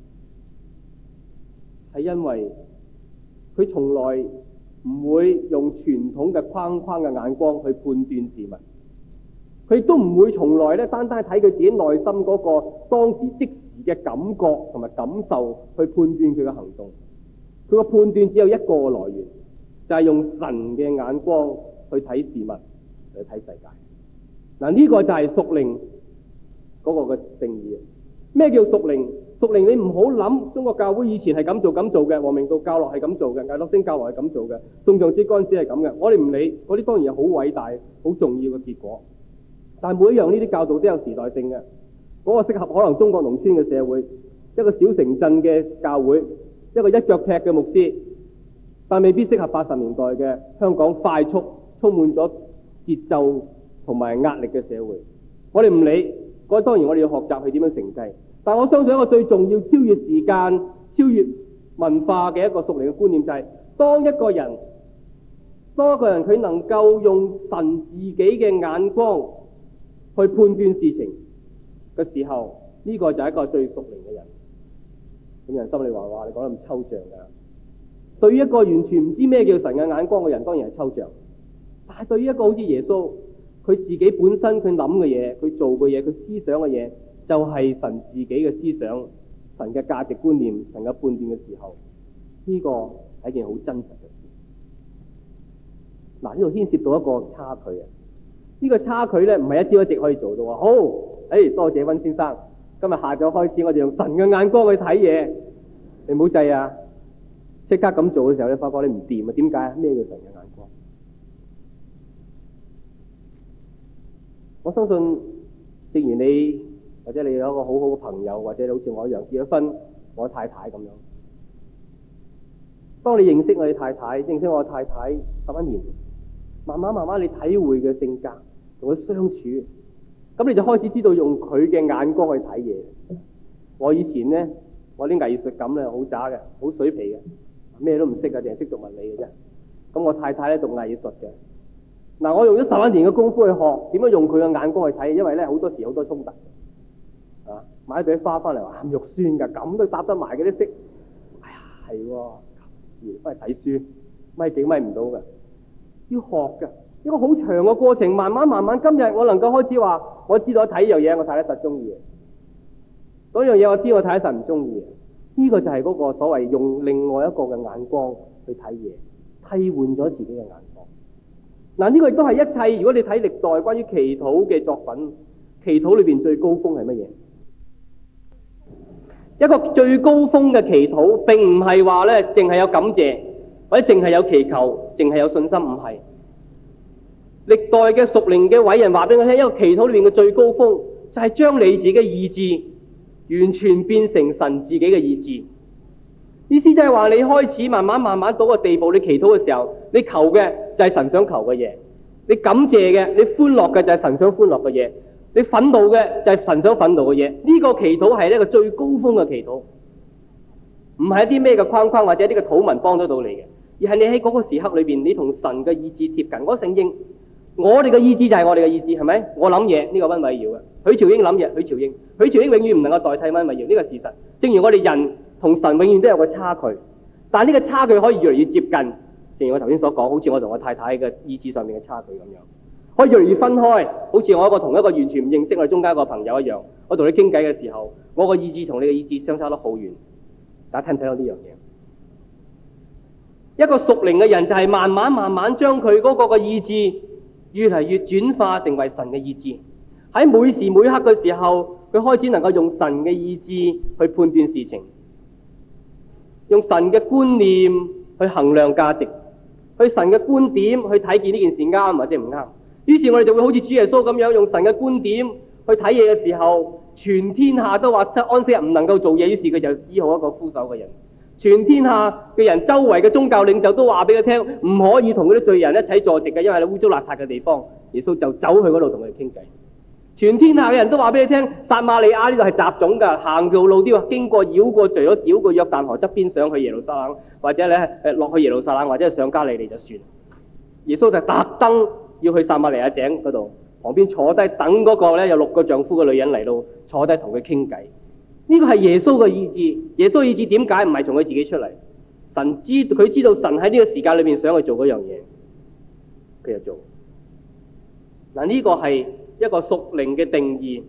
係因為佢從來唔會用傳統嘅框框嘅眼光去判斷事物，佢亦都唔會從來咧單單睇佢自己內心嗰個當時即時嘅感覺同埋感受去判斷佢嘅行動。佢個判斷只有一個來源，就係用神嘅眼光去睇事物，去睇世界。嗱，呢個就係屬靈嗰個嘅定義。咩叫屬靈？屬靈你唔好諗中國教會以前係咁做嘅，王明道教落係咁做嘅，魏樂星教落係咁做嘅，宋仲基嗰陣時係咁嘅。我哋唔理，嗰啲當然係好偉大、好重要嘅結果。但係每一樣呢啲教導都有時代性嘅。嗰個適合可能中國農村嘅社會，一個小城鎮嘅教會，一個一腳踢嘅牧師，但未必適合80年代嘅香港快速、充滿咗節奏同埋壓力嘅社會。我哋唔理，嗰當然我哋要學習去點樣承繼。但我相信一個最重要、超越時間、超越文化嘅一個屬靈嘅觀念就係，當一個人佢能夠用神自己嘅眼光去判斷事情嘅時候，呢個就係一個最屬靈嘅人。咁人心裏話你講得咁抽象噶。對於一個完全唔知咩叫神嘅眼光嘅人，當然係抽象。但係對於一個好似耶穌，佢自己本身佢諗嘅嘢、佢做嘅嘢、佢思想嘅嘢， 就係神自己嘅思想、神嘅價值觀念、神嘅判斷嘅時候，呢個係一件好真實嘅事。嗱，呢度牽涉到一個差距啊！呢個差距咧唔係一朝一夕可以做到啊！好，多謝溫先生，今日下晝開始我哋用神嘅眼光去睇嘢，你唔好制啊！即刻咁做嘅時候，你發覺你唔掂啊？點解？咩叫神嘅眼光？我相信，正如你或者你有一個好好嘅朋友，或者你好似我一樣結咗婚，我太太咁樣。當你認識我嘅太太，認識我嘅太太11年，慢慢你體會嘅性格，同佢相處，咁你就開始知道用佢嘅眼光去睇嘢。我以前呢，我啲藝術感咧好渣嘅，好水皮嘅，咩都唔識嘅，淨係識讀物理嘅啫。咁我太太咧讀藝術嘅。嗱，我用咗11年嘅功夫去學點樣用佢嘅眼光去睇，因為咧好多時好多衝突。啊，買一朵花翻嚟話鹹肉酸㗎，咁都搭得埋嗰啲色。哎呀，係喎，翻嚟睇書，咪幾咪唔到㗎，要學㗎，一個好長嘅過程，慢慢，今日我能夠開始話，我知道我睇呢樣嘢，我太太實中意嘅。嗰樣嘢我知我太太實唔中意嘅。呢個就係嗰個所謂用另外一個嘅眼光去睇嘢，替換咗自己嘅眼光。嗱，呢個亦都係一切。如果你睇歷代關於祈禱嘅作品，祈禱裏邊最高峰係乜嘢？一個最高峰嘅祈禱，並唔係話咧淨係有感謝，或者淨係有祈求，淨係有信心，唔係。歷代嘅屬靈嘅偉人話俾我聽，一個祈禱裏邊嘅最高峰就係將你自己嘅意志完全變成神自己嘅意志。意思就係話你開始慢慢到個地步，你祈禱嘅時候，你求嘅就係神想求嘅嘢，你感謝嘅，你歡樂嘅就係神想歡樂嘅嘢，你憤怒嘅就係神想憤怒嘅嘢。呢個祈禱係一個最高峰嘅祈禱，唔係一啲咩嘅框框或者一啲嘅禱文幫得到你嘅，而係你喺嗰個時刻裏邊，你同神嘅意志貼近。我承認，我哋嘅意志就係我哋嘅意志，係咪？我諗嘢，呢個溫偉耀嘅，許兆英諗嘢，許兆英永遠唔能夠代替溫偉耀，呢個事實。正如我哋人同神永遠都有個差距，但係呢個差距可以越嚟越接近。正如我頭先所講，好似我同我太太嘅意志上面嘅差距咁樣，可以越嚟越分開。好似我同一個完全唔認識我哋中間一個朋友一樣，我同你傾偈嘅時候，我個意志同你嘅意志相差得好遠。大家聽唔聽到呢樣嘢？一個屬靈嘅人就係慢慢將佢嗰個嘅意志越嚟越轉化成為神嘅意志。喺每時每刻嘅時候，佢開始能夠用神嘅意志去判斷事情，用神嘅觀念去衡量價值，去神嘅觀點去睇見呢件事啱或者唔啱。於是我哋就會好似主耶穌咁樣，用神嘅觀點去睇嘢嘅時候，全天下都話安息日唔能夠做嘢，於是佢就醫好一個枯手嘅人。全天下嘅人，周圍嘅宗教領袖都話俾佢聽，唔可以同嗰啲罪人一齊坐席嘅，因為係污糟邋遢嘅地方。耶穌就走去嗰度同佢哋傾偈。全天下嘅人都話俾你聽，撒瑪利亞呢度係雜種㗎，行條路都要經過繞過，除咗繞過約旦河側邊上去耶路撒冷，或者咧落去耶路撒冷，或者上加利利就算。耶穌就特登要去撒瑪利亞井嗰度旁邊坐低，等嗰個咧有6個丈夫嘅女人嚟到坐低同佢傾偈。呢個係耶穌嘅意志。耶穌嘅意志點解唔係從佢自己出嚟？佢知道神喺呢個時間裏面想去做嗰樣嘢，佢就做。嗱，呢個係一個屬靈嘅定義。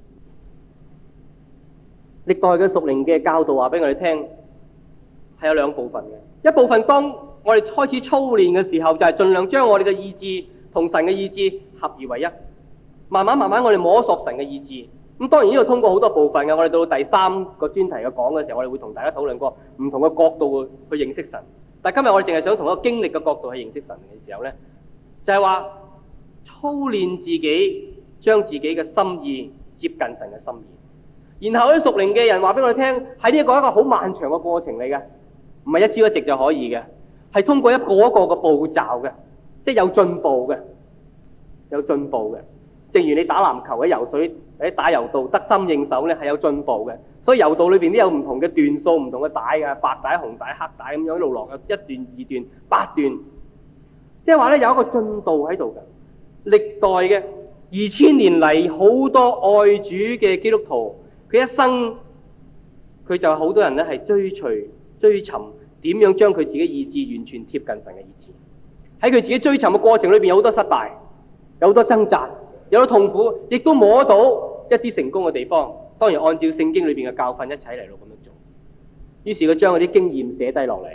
歷代嘅屬靈嘅教導話俾我哋聽，係有2部分嘅。一部分當我哋開始操練嘅時候，就係盡量將我哋嘅意志同神嘅意志合而為一。慢慢我哋摸索神嘅意志。咁當然呢度通過好多部分嘅，我哋到第3個專題嘅講嘅時候，我哋會同大家討論過唔同嘅角度去認識神。但係今日我哋淨係想從一個經歷嘅角度去認識神嘅時候呢，就係話操練自己，將自己嘅心意接近神嘅心意。然後啲屬靈嘅人話俾我哋聽，喺呢一個好漫長嘅過程嚟嘅，唔係一朝一夕就可以嘅，係通過一個一個嘅步驟嘅，即係有進步嘅，有進步嘅。正如你打籃球喺游水喺打柔道得心應手咧，係有進步嘅。所以柔道裏邊都有唔同嘅段數、唔同嘅帶嘅，白帶、紅帶、黑帶咁樣一路落嘅，1段、2段、8段，即係話咧有一個進度喺度嘅。歷代嘅2000年嚟好多愛主嘅基督徒，佢一生佢就好多人咧係追尋點樣將佢自己意志完全貼近神嘅意志。喺佢自己追尋嘅過程裏邊有好多失敗，有好多掙扎，有好多痛苦，亦都摸到一啲成功嘅地方。 當然按照聖經裏邊嘅教訓一齊嚟到咁樣做。於是佢將嗰啲經驗寫低落嚟，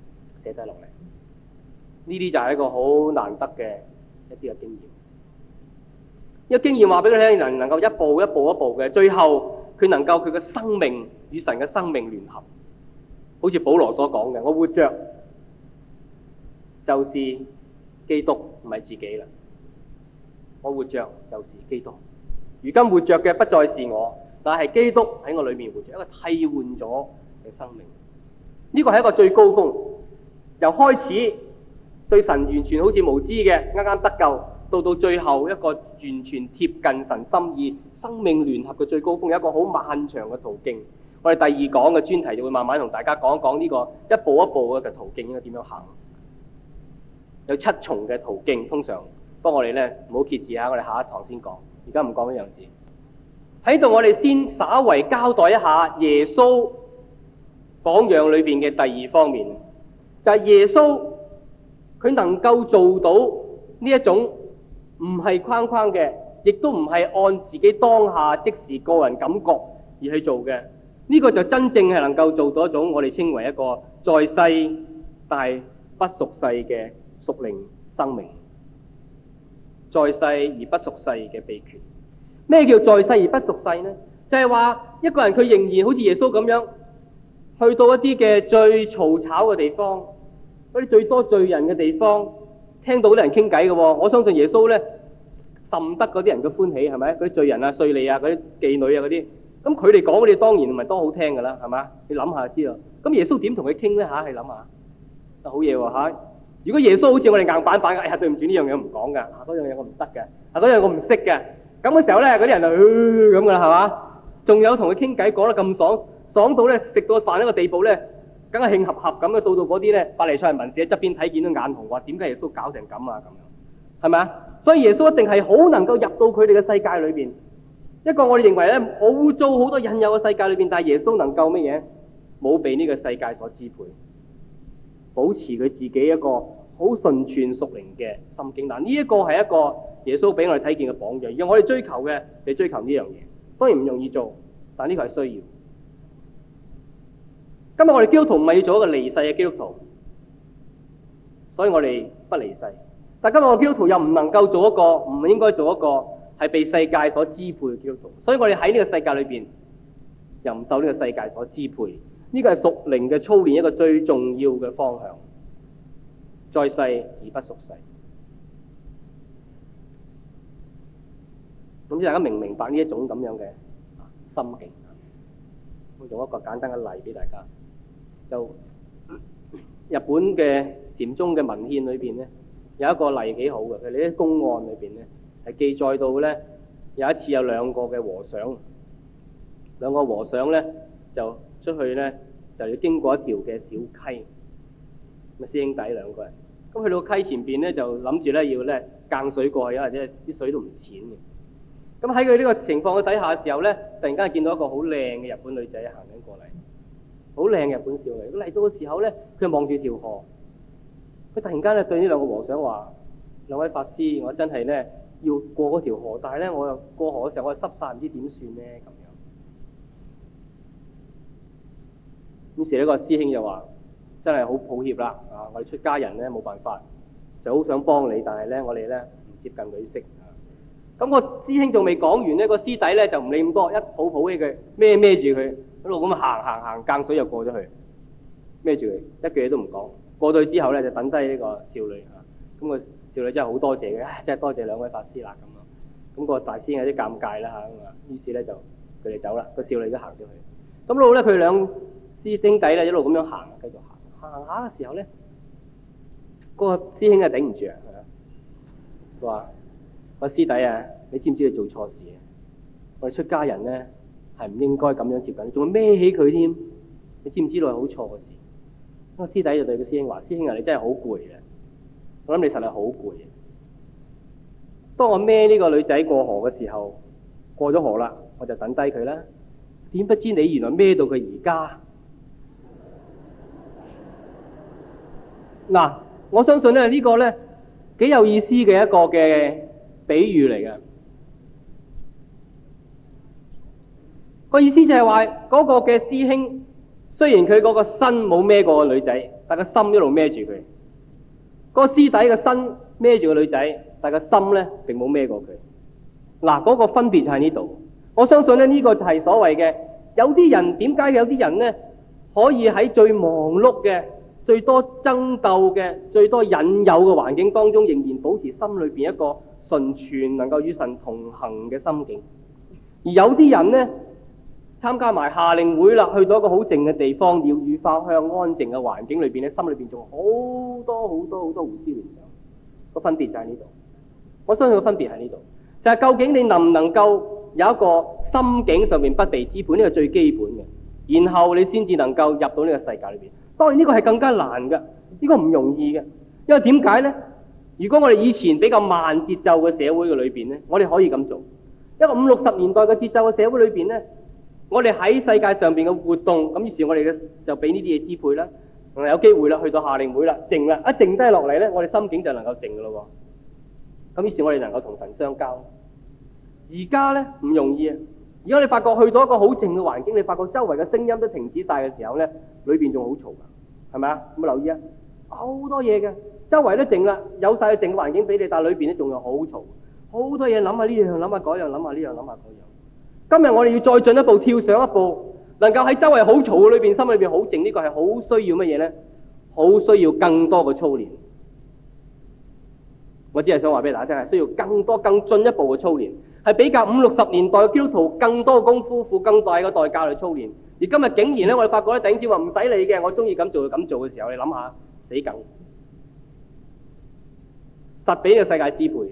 呢啲就係一個好難得嘅一啲嘅經驗。呢個經驗話俾佢聽，人能夠一步一步嘅，最後佢能夠佢嘅生命與神嘅生命聯合，好似保羅所講嘅，我活着就是基督，唔係自己啦。我活着就是基督，如今活着嘅不再是我，但係基督喺我裏面活着，一個替換咗嘅生命。呢個係一個最高峰，由開始對神完全好似無知嘅，啱啱得救，到最後一個完全貼近神心意、生命聯合嘅最高峰，有一個好漫長嘅途徑。我哋第二講嘅專題就會慢慢同大家講一講呢個一步一步嘅途徑應該點樣行。有7重嘅途徑，通常不過我哋咧唔好揭示下，我哋下一堂先講，而家唔講呢樣字。喺度我哋先稍為交代一下耶穌榜樣裏邊嘅第二方面，就係耶穌佢能夠做到呢一種唔係框框嘅，亦都唔係按自己當下即時個人感覺而去做嘅。呢個就真正係能夠做到一種我哋稱為一個在世但係不屬世嘅屬靈生命，在世而不屬世嘅秘訣。咩叫在世而不屬世呢？就係話一個人佢仍然好似耶穌咁樣，去到一啲嘅最嘈吵嘅地方，嗰啲最多罪人嘅地方，聽到啲人傾偈嘅。我相信耶穌呢，甚得嗰啲人嘅歡喜，係咪？嗰啲罪人啊、稅吏啊、嗰啲妓女啊嗰啲，咁佢哋講嗰啲當然唔係多好聽㗎啦，係嘛？你諗下就知道。咁耶穌點同佢傾呢？嚇，你諗下，好嘢喎嚇！如果耶穌好似我哋硬板板嘅，哎呀對唔住呢樣嘢唔講㗎，嗰樣嘢我唔得嘅，嗰樣我唔識嘅，咁嘅時候咧，嗰啲人就咁㗎啦，係嘛？仲有同佢傾偈講得咁爽到咧，食到飯一個地步咧，梗係慶合合咁嘅，到嗰啲咧法利賽人文士喺側邊睇見都眼紅，話點解耶穌搞成咁啊？咁樣係咪啊？所以耶穌一定係好能夠入到佢哋嘅世界裏邊，一個我哋認為咧好污糟好多引誘嘅世界裏邊，但係耶穌能夠乜嘢？冇被呢個世界所支配。保持佢自己一個好順串屬靈嘅心境，嗱呢一個係一個耶穌俾我哋睇見嘅榜樣，而我哋追求嘅係追求呢樣嘢，當然唔容易做，但呢個係需要。今日我哋基督徒唔係要做一個離世嘅基督徒，所以我哋不離世。但今日我哋基督徒又唔能夠做一個，唔應該做一個係被世界所支配嘅基督徒，所以我哋喺呢個世界裏邊又唔受呢個世界所支配。呢個係屬靈嘅操練一個最重要嘅方向，在世而不屬世。咁大家明唔明白呢一種咁樣嘅心境？我用一個簡單嘅例俾大家。就日本嘅禪宗嘅文獻裏邊咧，有一個例幾好嘅，佢哋啲公案裏邊咧係記載到咧，有一次有兩個和尚咧就出去咧就要經過一條嘅小溪，咁師兄弟兩個人，咁去到溪前邊咧就諗住咧要咧間水過去，或者啲水都唔淺嘅。咁喺佢呢個情況嘅底下嘅時候咧，突然間見到一個好靚嘅日本女仔行緊過嚟，好靚嘅日本少女。咁嚟到嘅時候咧，佢望住條河，佢突然間咧對呢兩個和尚話：兩位法師，我真係咧要過嗰條河，但係咧我又過河嘅時候我又濕晒，唔知點算咧咁樣。於是呢個師兄就話：真係好抱歉啦，啊！我哋出家人咧冇辦法，就好想幫你，但係咧我哋咧唔接近女色。咁個師兄仲未講完呢，個師弟咧就唔理咁多，一抱抱起佢，孭住佢，一路咁行，間水又過咗去，孭住佢，一句嘢都唔講。過到去之後咧就等低呢個少女啊。咁個少女真係好多謝嘅，真係多謝兩位法師啦咁咯。咁個大師兄有啲尷尬啦嚇，咁啊，於是咧就佢哋走啦，個少女都行咗去。咁一路咧佢兩師兄弟咧一路咁樣行，繼續行下嘅時候咧，嗰個師兄啊頂唔住啊，佢話：個師弟啊，你知唔知你做錯事啊？我哋出家人咧係唔應該咁樣接近，仲要孭起佢添。你知唔知道係好錯嘅事？個師弟就對個師兄話：師兄啊，你真係好攰啊！我諗你實係好攰啊！當我孭呢個女仔過河嘅時候，過咗河啦，我就等低佢啦。點不知你原來孭到佢而家。嗱，我相信咧呢個咧幾有意思嘅一個嘅比喻嚟嘅。 個意思就係話嗰個嘅師兄，雖然佢嗰個身冇孭過個女仔，但個心一路孭住佢。個師弟個身孭住個女仔，但個心咧並冇孭過佢。嗱，嗰個分別就喺呢度。我相信咧呢個就係所謂嘅，有啲人點解有啲人咧可以喺最忙碌嘅、最多爭鬥嘅、最多引誘嘅環境當中，仍然保持心裏邊一個純全能夠與神同行嘅心境。而有啲人呢，參加埋夏令會啦，去到一個好靜嘅地方，鳥語花香、安靜嘅環境裏邊咧，心裏邊仲好多胡思亂想。個分別就喺呢度。我相信個分別喺呢度，就係究竟你能唔能夠有一個心境上面不被支配，呢個最基本嘅，然後你先至能夠入到呢個世界裏邊。當然呢個係更加難嘅，呢個唔容易嘅，因為點解呢？如果我哋以前比較慢節奏嘅社會嘅裏邊呢，我哋可以咁做。一個50、60年代嘅節奏嘅社會裏邊呢，我哋喺世界上邊嘅活動，咁於是我哋就俾呢啲嘢支配啦。有機會啦，去到夏令會啦，靜啦，一靜低落嚟呢，我哋心境就能夠靜噶咯。咁於是我哋能夠同神相交。而家呢，唔容易啊！而家你發覺去到一個好靜嘅環境，你發覺周圍嘅聲音都停止晒嘅時候呢，裏邊仲好嘈噶，係咪啊？有冇留意啊？好多嘢嘅，周圍都靜啦，有晒個靜嘅環境俾你，但係裏邊咧仲有好嘈，好多嘢諗下呢樣，諗下嗰樣，諗下呢樣，諗下嗰樣。今日我哋要再進一步跳上一步，能夠喺周圍好嘈嘅裏邊，心裏邊好靜，呢個係好需要乜嘢呢？好需要更多嘅操練。我只係想話俾大家聽，係需要更多、更進一步嘅操練，係比較50、60年代嘅基督徒更多嘅功夫，付更大嘅代價去操練。而今日竟然咧，我哋發覺咧，弟兄姊妹話唔使理嘅，我中意咁做就咁做嘅時候，你諗下，死梗，實俾呢個世界支配。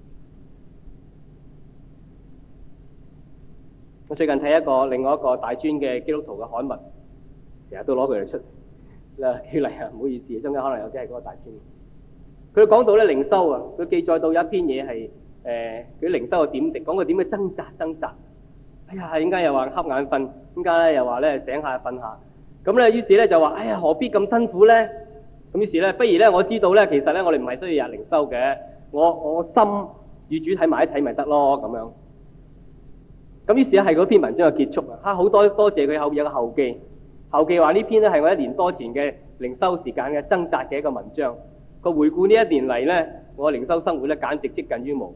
我最近睇另外一個大專嘅基督徒嘅刊物，成日都攞佢嚟出啦，叫嚟啊，唔好意思，中間可能有啲係嗰個大專。佢講到咧靈修啊，佢記載到有一篇嘢係佢靈修嘅點滴，講佢點樣掙扎。哎呀，點解又話瞌眼瞓？點解咧又話咧醒下瞓下？咁咧於是咧就話：哎呀，何必咁辛苦咧？咁於是咧，不如咧我知道咧，其實咧我哋唔係需要日靈修嘅，我心與主睇埋一齊咪得咯咁樣。咁於是咧係嗰篇文章嘅結束啊！好多謝佢後邊有個後記，後記話呢篇咧係我1年多前嘅靈修時間嘅掙扎嘅一個文章。個回顧呢1年嚟咧，我靈修生活咧簡直接近於無。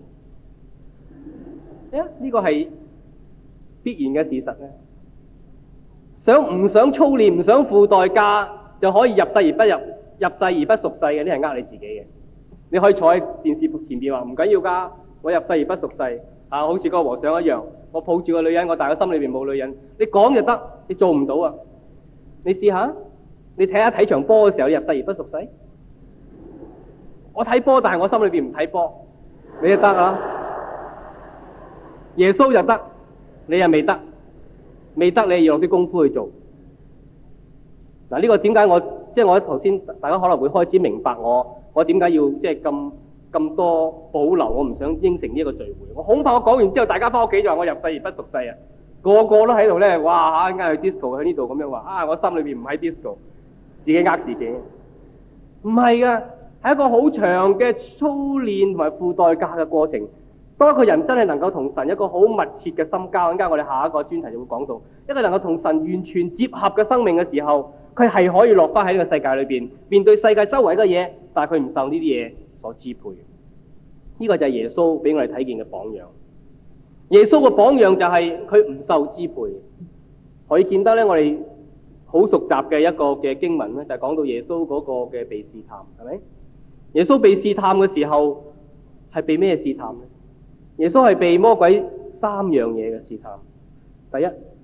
呢個係必然嘅事實咧。唔想操練，唔想付代價就可以入世而不入，入世而不屬世嘅，呢係呃你自己嘅。你可以坐喺電視前邊話唔緊要㗎，我入世而不屬世啊，好似嗰個和尚一樣，我抱住個女人，我但係個心裏邊冇女人。你講就得，你做唔到啊！你試下，你睇場波嘅時候，你入世而不屬世。我睇波，但係我心裏邊唔睇波，你就得啊！耶穌就得，你又未得，未得你要落啲功夫去做。嗱，呢個點解我頭先大家可能會開始明白我點解要咁多保留，我唔想應承呢一個聚會。我恐怕我講完之後，大家翻屋企就話我入世而不屬世啊！個個都喺度咧，哇嚇，點解去 disco 喺呢度咁樣話啊？我心裏邊唔喺 disco， 自己呃自己。唔係噶。係一個好長嘅操練同埋付代價嘅過程。當一個人真係能夠同神一個好密切嘅深交，陣間我哋下一個專題就會講到，一個能夠同神完全接合嘅生命嘅時候，佢係可以落翻喺呢個世界裏邊，面對世界周圍嘅嘢，但係佢唔受呢啲嘢所支配。呢個就係耶穌俾我哋睇見嘅榜樣。耶穌嘅榜樣就係佢唔受支配。可以見得咧，我哋好熟習嘅一個嘅經文咧，就係講到耶穌嗰個嘅被試探，係咪？耶穌被試探嘅時候係被咩試探呢？耶穌係被魔鬼3樣嘢嘅試探。第一，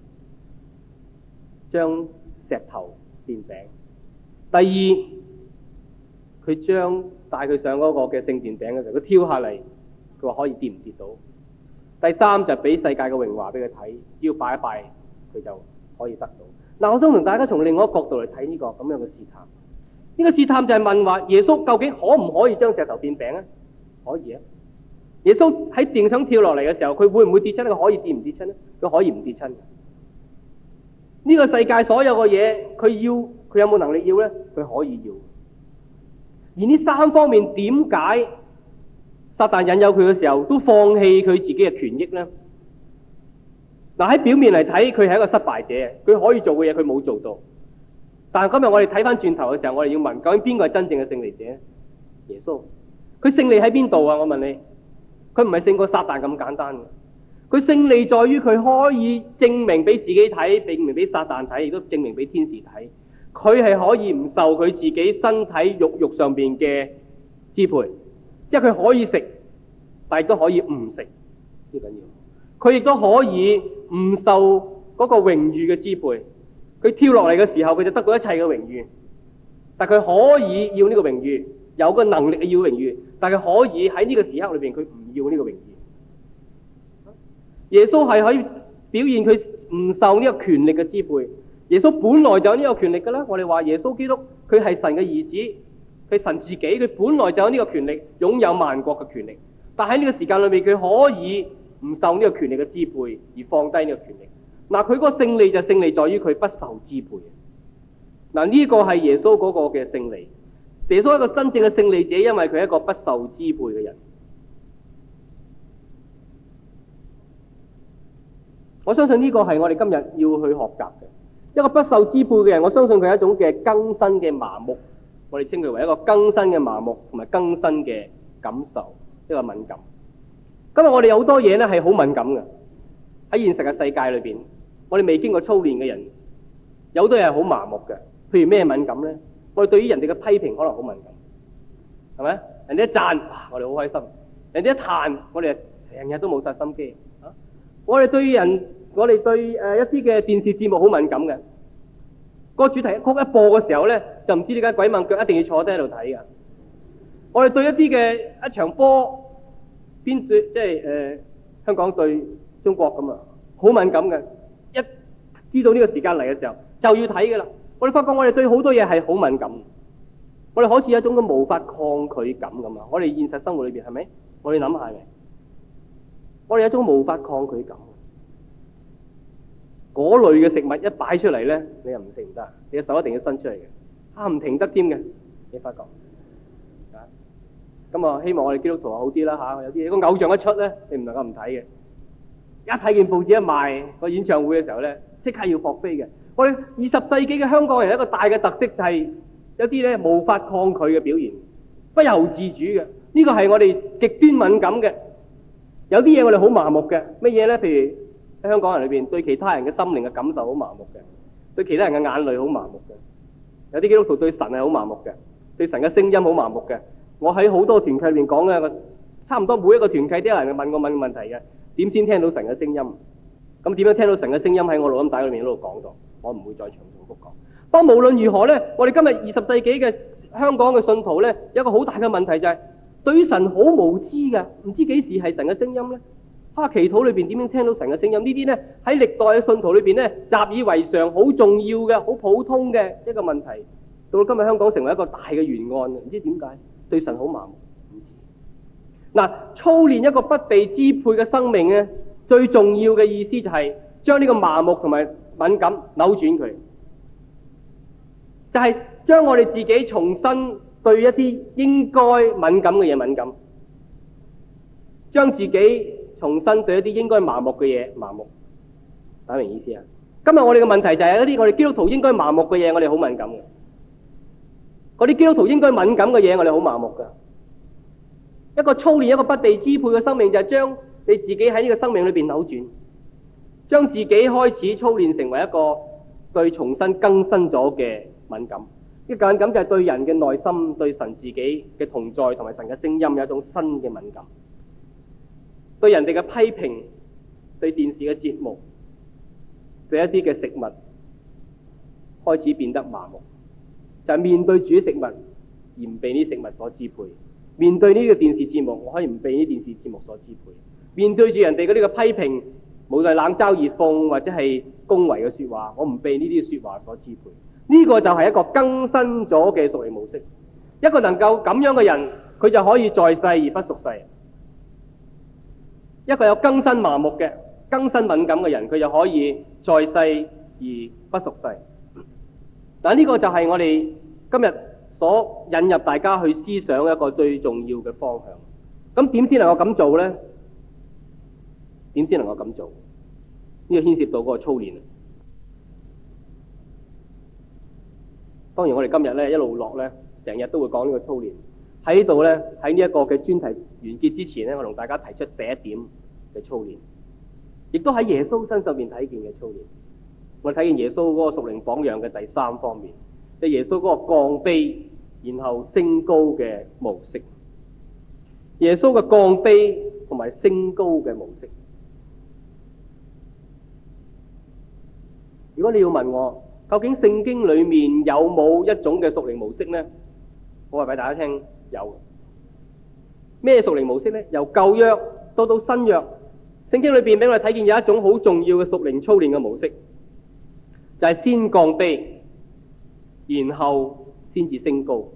將石頭變餅；第二，佢將帶佢上嗰個嘅聖殿餅嘅時候，佢挑下嚟，佢話可以跌唔跌到；第三就係俾世界嘅榮華俾佢睇，只要拜一拜佢就可以得到。嗱，我想同大家從另外一個角度嚟睇呢個咁樣嘅試探。呢個試探就係問話耶穌究竟可唔可以將石頭變餅啊？可以啊！耶穌喺電想跳落嚟嘅時候，佢會唔會跌親？佢可以跌唔跌親呢？佢可以唔跌親。呢個世界所有嘅嘢，佢有冇能力要呢？佢可以要。而呢3方面點解撒旦引誘佢嘅時候都放棄佢自己嘅權益呢？ 嗱，喺表面嚟睇，佢係一個失敗者，佢可以做嘅嘢佢冇做到。但係今日我哋睇翻轉頭嘅時候，我哋要問，究竟邊個係真正嘅勝利者？耶穌。佢勝利喺邊度啊？我問你，佢唔係勝過撒旦咁簡單嘅。佢勝利在於佢可以證明俾自己睇，證明俾撒旦睇，亦都證明俾天使睇。佢係可以唔受佢自己身體肉上邊嘅支配，即係佢可以食，但係亦都可以唔食，呢緊要。佢亦都可以唔受嗰個榮譽嘅支配。佢跳落嚟嘅時候，佢就得到一切嘅榮譽。但佢可以要呢個榮譽，有個能力要榮譽，但係可以喺呢個時刻裏邊，佢唔要呢個榮譽。耶穌係可以表現佢唔受呢個權力嘅支配。耶穌本來就有呢個權力㗎啦。我哋話耶穌基督佢係神嘅兒子，佢神自己，佢本來就有呢個權力，擁有萬國嘅權力。但喺呢個時間裏面，佢可以唔受呢個權力嘅支配，而放低呢個權力。嗱，佢嗰個勝利就勝利在於佢不受支配。嗱，呢個係耶穌嗰個嘅勝利。耶穌係一個真正嘅勝利者，因為佢係一個不受支配嘅人。我相信呢個係我哋今日要去學習嘅。一個不受支配嘅人，我相信佢係一種嘅更新嘅麻木，我哋稱佢為一個更新嘅麻木同埋更新嘅感受，一個敏感。今日我哋有好多嘢咧係好敏感嘅，喺現實嘅世界裏邊，我哋未經過操練嘅人，有好多嘢係好麻木嘅。譬如咩敏感咧？我哋對於人哋嘅批評可能好敏感，係咪？人哋一讚，我哋好開心；人哋一彈，我哋成日都冇晒心機。我哋對一啲嘅電視節目好敏感嘅，個主題曲一播嘅時候咧，就唔知點解鬼掹腳一定要坐低喺度睇㗎。我哋對一啲嘅一場波，香港對中國咁啊，好敏感嘅。一知道呢個時間嚟嘅時候，就要睇㗎啦。我哋發覺我哋對好多嘢係好敏感，我哋好似有一種嘅無法抗拒感咁啊！我哋現實生活裏邊係咪？我哋諗下嘅，我哋有一種無法抗拒感。嗰類嘅食物一擺出嚟咧，你又唔食唔得，你嘅手一定要伸出嚟嘅，唔停得添嘅，你發覺啊？咁啊，希望我哋基督徒好啲啦嚇。有啲嘢個偶像一出咧，你唔能夠唔睇嘅。一睇見報紙一賣個演唱會嘅時候咧，即刻要撲飛嘅。我哋20世紀嘅香港人一個大嘅特色就係有啲咧無法抗拒嘅表現，不由自主嘅。呢個係我哋極端敏感嘅。有啲嘢我哋好麻木嘅，乜嘢咧？譬如喺香港人裏邊對其他人嘅心靈嘅感受好麻木嘅，對其他人嘅眼淚好麻木嘅。有啲基督徒對神係好麻木嘅，對神嘅聲音好麻木嘅。我喺好多團契裏邊講嘅，差唔多每一個團契都有人問我問題嘅，點先聽到神嘅聲音？咁點樣聽到神嘅聲音？喺我錄音帶裏面嗰度講咗，我唔會再詳重複講。不過無論如何呢，我哋今日20世紀嘅香港嘅信徒呢，有一個好大嘅問題就係對於神好無知嘅，唔知幾時係神嘅聲音呢？祈禱裏邊點樣聽到神嘅聲音？呢啲呢，喺歷代嘅信徒裏邊呢，習以為常、好重要嘅、好普通嘅一個問題，到今日香港成為一個大嘅懸案，唔知點解對神好麻木。嗱，操練一個不被支配嘅生命呢，最重要嘅意思就係將呢個麻木同埋敏感扭轉佢，就係將我哋自己重新對一啲應該敏感嘅嘢敏感，將自己重新對一啲應該麻木嘅嘢麻木。打明意思啊？今日我哋嘅問題就係一啲我哋基督徒應該麻木嘅嘢，我哋好敏感嘅；嗰啲基督徒應該敏感嘅嘢，我哋好麻木㗎。一個操練一個不被支配嘅生命，就係將你自己喺呢個生命裏邊扭轉，將自己開始操練成為一個對重新更新咗嘅敏感。呢個敏感就係對人嘅內心、對神自己嘅同在同埋神嘅聲音有一種新嘅敏感。對人哋嘅批評、對電視嘅節目、對一啲嘅食物開始變得麻木，就係面對煮食物而唔被呢食物所支配。面對呢個電視節目，我可以唔被呢電視節目所支配。面對住人哋嗰啲嘅批評，無論冷嘲熱諷或者係恭維嘅說話，我唔被呢啲說話所支配。呢個就係一個更新咗嘅屬靈模式。一個能夠咁樣嘅人，佢就可以在世而不屬世。一個有更新麻木嘅、更新敏感嘅人，佢就可以在世而不屬世。但呢個就係我哋今日所引入大家去思想一個最重要嘅方向。咁點先能夠咁做呢？點先能夠咁做？ 呢個牽涉到嗰個操練。當然我哋今日咧一路落咧，成日都會講呢個操練。喺呢度咧，喺呢一個嘅專題完結之前咧，我同大家提出第一點嘅操練，亦都喺耶穌身上邊睇見嘅操練。我哋睇見耶穌嗰個屬靈榜樣嘅第三方面，即係耶穌嗰個降卑然後升高嘅模式。耶穌嘅降卑同埋升高嘅模式。如果你要問我，究竟聖經裏面有冇一種嘅屬靈模式呢？我話俾大家聽，有。咩屬靈模式呢？由舊約到新約，聖經裏邊俾我哋睇見有一種好重要嘅屬靈操練嘅模式，就係先降卑，然後先至升高，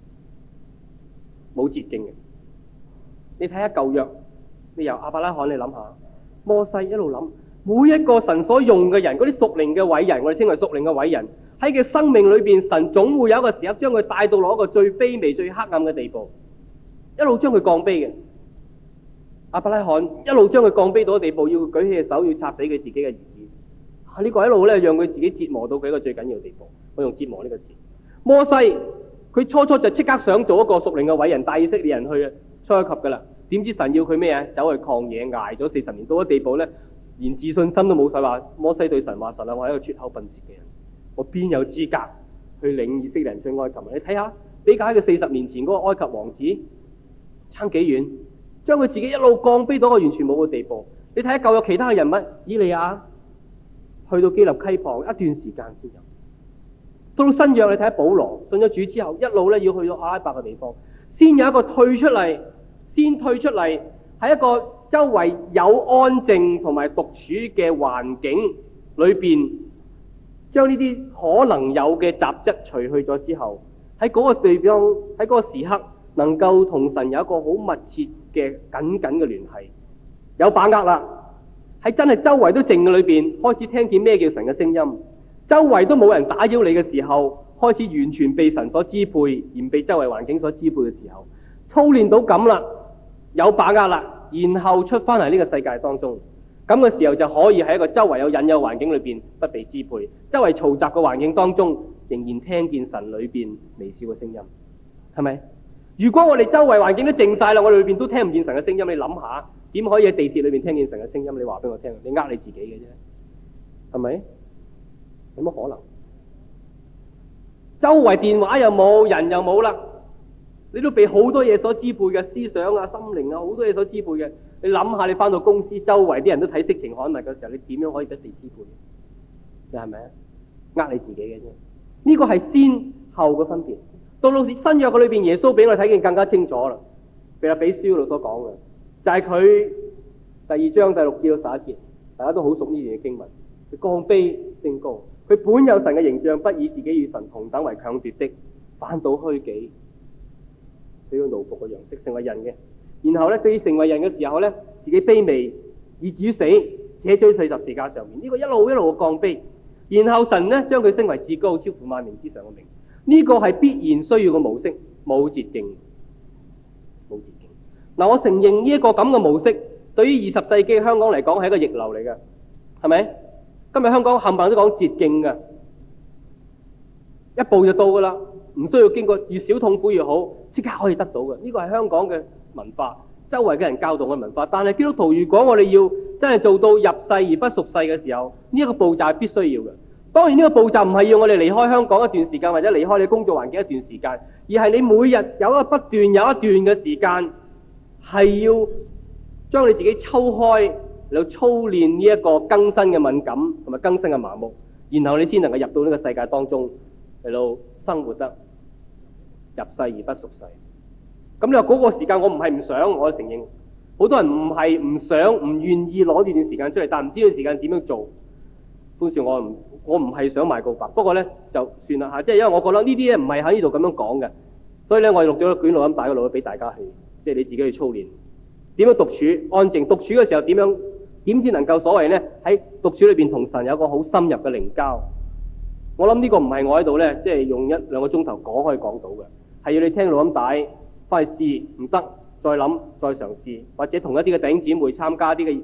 冇捷徑嘅。你睇下舊約，你由亞伯拉罕你諗下，摩西一路諗。每一個神所用嘅人，嗰啲屬靈嘅偉人，我哋稱為屬靈嘅偉人，喺佢生命裏邊，神總會有一個時刻將佢帶到落一個最卑微、最黑暗嘅地步，一路將佢降卑嘅。亞伯拉罕一路將佢降卑到嘅地步，要舉起隻手，要插死佢自己嘅兒子。呢個一路咧，讓佢自己折磨到佢一個最緊要嘅地步。我用折磨呢個字。摩西佢初初就即刻想做一個屬靈嘅偉人，帶以色列人去出埃及噶啦。點知神要佢咩啊？走去曠野挨咗40年，到咗地步咧，連自信心都冇晒，話摩西對神話，神啊，我係一個拙口笨舌嘅人，我邊有資格去領以色列人出埃及？你睇下，比較喺佢40年前嗰個埃及王子差幾遠，將佢自己一路降卑到一個完全冇嘅地步。你睇下舊有其他嘅人物，以利亞去到基立溪旁一段時間先有。到新約你睇下保羅信咗主之後，一路咧要去到阿拉伯嘅地方，先有一個退出嚟，喺一個周圍有安靜同埋獨處嘅環境裏邊，將呢啲可能有嘅雜質除去咗之後，喺嗰個地方，喺嗰個時刻，能夠同神有一個好密切嘅緊緊嘅聯繫，有把握啦。喺真係周圍都靜嘅裏邊，開始聽見咩叫神嘅聲音，周圍都冇人打擾你嘅時候，開始完全被神所支配，而唔被周圍環境所支配嘅時候，操練到咁啦，有把握啦。然後出翻嚟呢個世界當中，咁嘅時候就可以喺一個周圍有引誘環境裏邊不被支配，周圍嘈雜嘅環境當中，仍然聽見神裏邊微小嘅聲音，係咪？如果我哋周圍環境都靜晒啦，我哋裏邊都聽唔見神嘅聲音，你諗下點可以喺地鐵裏邊聽見神嘅聲音？你話俾我聽，你呃你自己嘅啫，係咪？有乜可能？周圍電話又冇，人又冇啦。你都被好多嘢所支配嘅，思想啊、心靈啊，好多嘢所支配嘅。你諗下，你翻到公司，周圍啲人都睇色情刊物嘅時候，你點樣可以不被支配？你係咪啊？呃你自己嘅啫。呢個係先後嘅分別。到新約嘅裏邊，耶穌俾我哋睇見更加清楚啦。腓立比書嗰度所講嘅，就係佢第2章第6至到11節，大家都好熟呢段嘅經文。佢降卑升高，佢本有神嘅形象，不以自己與神同等為強奪的，反倒虛己。佢要奴僕嘅樣式，成為人嘅。然後咧，對於成為人嘅時候咧，自己卑微，以至於死，且追死十字架上面。呢個一路一路嘅降卑。然後神咧將佢升為至高，超乎萬名之上嘅名。呢個係必然需要嘅模式，冇捷徑，冇捷徑。嗱，我承認呢一個咁嘅模式，對於20世紀香港嚟講係一個逆流嚟嘅，係咪？今日香港冚唪唥都講捷徑嘅，一步就到噶啦。唔需要經過，越少痛苦越好，即刻可以得到嘅。呢個係香港嘅文化，周圍嘅人教導嘅文化。但係基督徒，如果我哋要真係做到入世而不屬世嘅時候，呢一個步驟係必須要嘅。當然呢個步驟唔係要我哋離開香港一段時間，或者離開你工作環境一段時間，而係你每日有一個不斷有一段嘅時間，係要將你自己抽開嚟操練呢一個更新嘅敏感同埋更新嘅麻木，然後你先能夠入到呢個世界當中嚟到生活得入世而不屬世。咁你話嗰個時間我唔係唔想，我承認好多人唔係唔想唔願意攞呢段時間出嚟，但唔知道時間點樣做。潘少我唔係想賣告白，不過咧就算啦嚇，即係因為我覺得呢啲咧唔係喺呢度咁樣講嘅，所以咧我錄咗一卷錄音帶嗰度俾大家去，即係你自己去操練點樣獨處安靜，獨處嘅時候點先能夠所謂咧喺獨處裏邊同神有個好深入嘅靈交。我諗呢個唔係我喺度咧，即係用1-2個鐘頭講可以講到嘅，係要你聽錄音帶翻去試，唔得再諗再嘗試，或者同一啲嘅弟兄姊妹參加啲嘅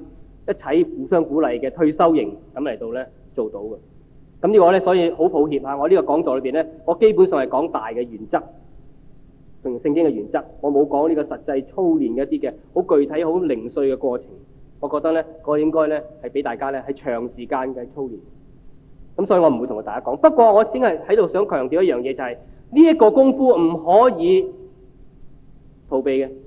一齊互相鼓勵嘅退修營咁嚟到咧做到嘅。咁呢個咧，所以好抱歉我呢個講座裏邊咧，我基本上係講大嘅原則同聖經嘅原則，我冇講呢個實際操練嘅一啲嘅好具體、好零碎嘅過程。我覺得咧，我應該咧係俾大家咧係長時間嘅操練。咁所以我唔會同大家講。不過我先係喺度想強調一樣嘢，就係呢一個功夫唔可以逃避嘅。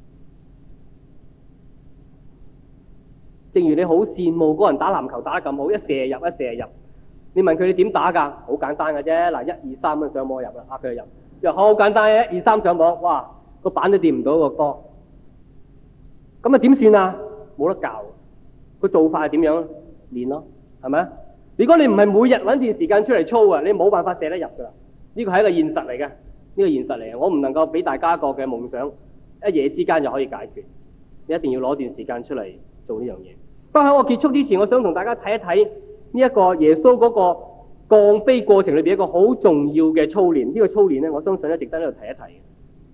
正如你好羨慕嗰個人打籃球打得咁好，一射入一射入，你問佢你點打㗎？好簡單嘅啫，嗱1、2、3咁上網入啦，佢就入。又好簡單嘅1、2、3上網，哇個板都掂唔到個波。咁啊點算啊？冇得教。個做法係點樣？練咯，係咪啊？如果你唔係每日揾段時間出嚟操啊，你冇辦法射得入㗎啦。呢個係一個現實嚟嘅，呢個現實嚟嘅。我唔能夠俾大家一個嘅夢想一夜之間就可以解決，你一定要攞段時間出嚟做呢樣嘢。不過喺我結束之前，我想同大家睇一睇呢一個耶穌嗰個降卑過程裏邊一個好重要嘅操練。呢個操練咧，我相信咧值得喺度提一提嘅，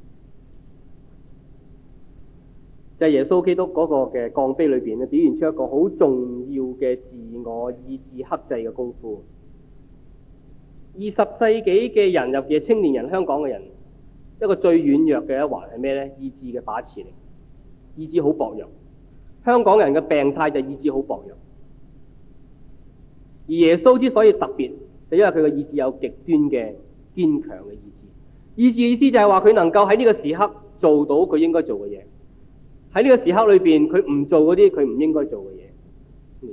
就係耶穌基督嗰個嘅降卑裏邊咧，表現出一個好重要嘅自我意志克制嘅功夫。20世紀嘅人，尤其係青年人、香港嘅人，一個最軟弱嘅一環係咩咧？意志嘅把持力，意志好薄弱。香港人嘅病態就意志好薄弱，而耶穌之所以特別，就因為佢嘅意志有極端嘅堅強嘅意志。意志嘅意思就係話佢能夠喺呢個時刻做到佢應該做嘅嘢，喺呢個時刻裏邊佢唔做嗰啲佢唔應該做嘅嘢。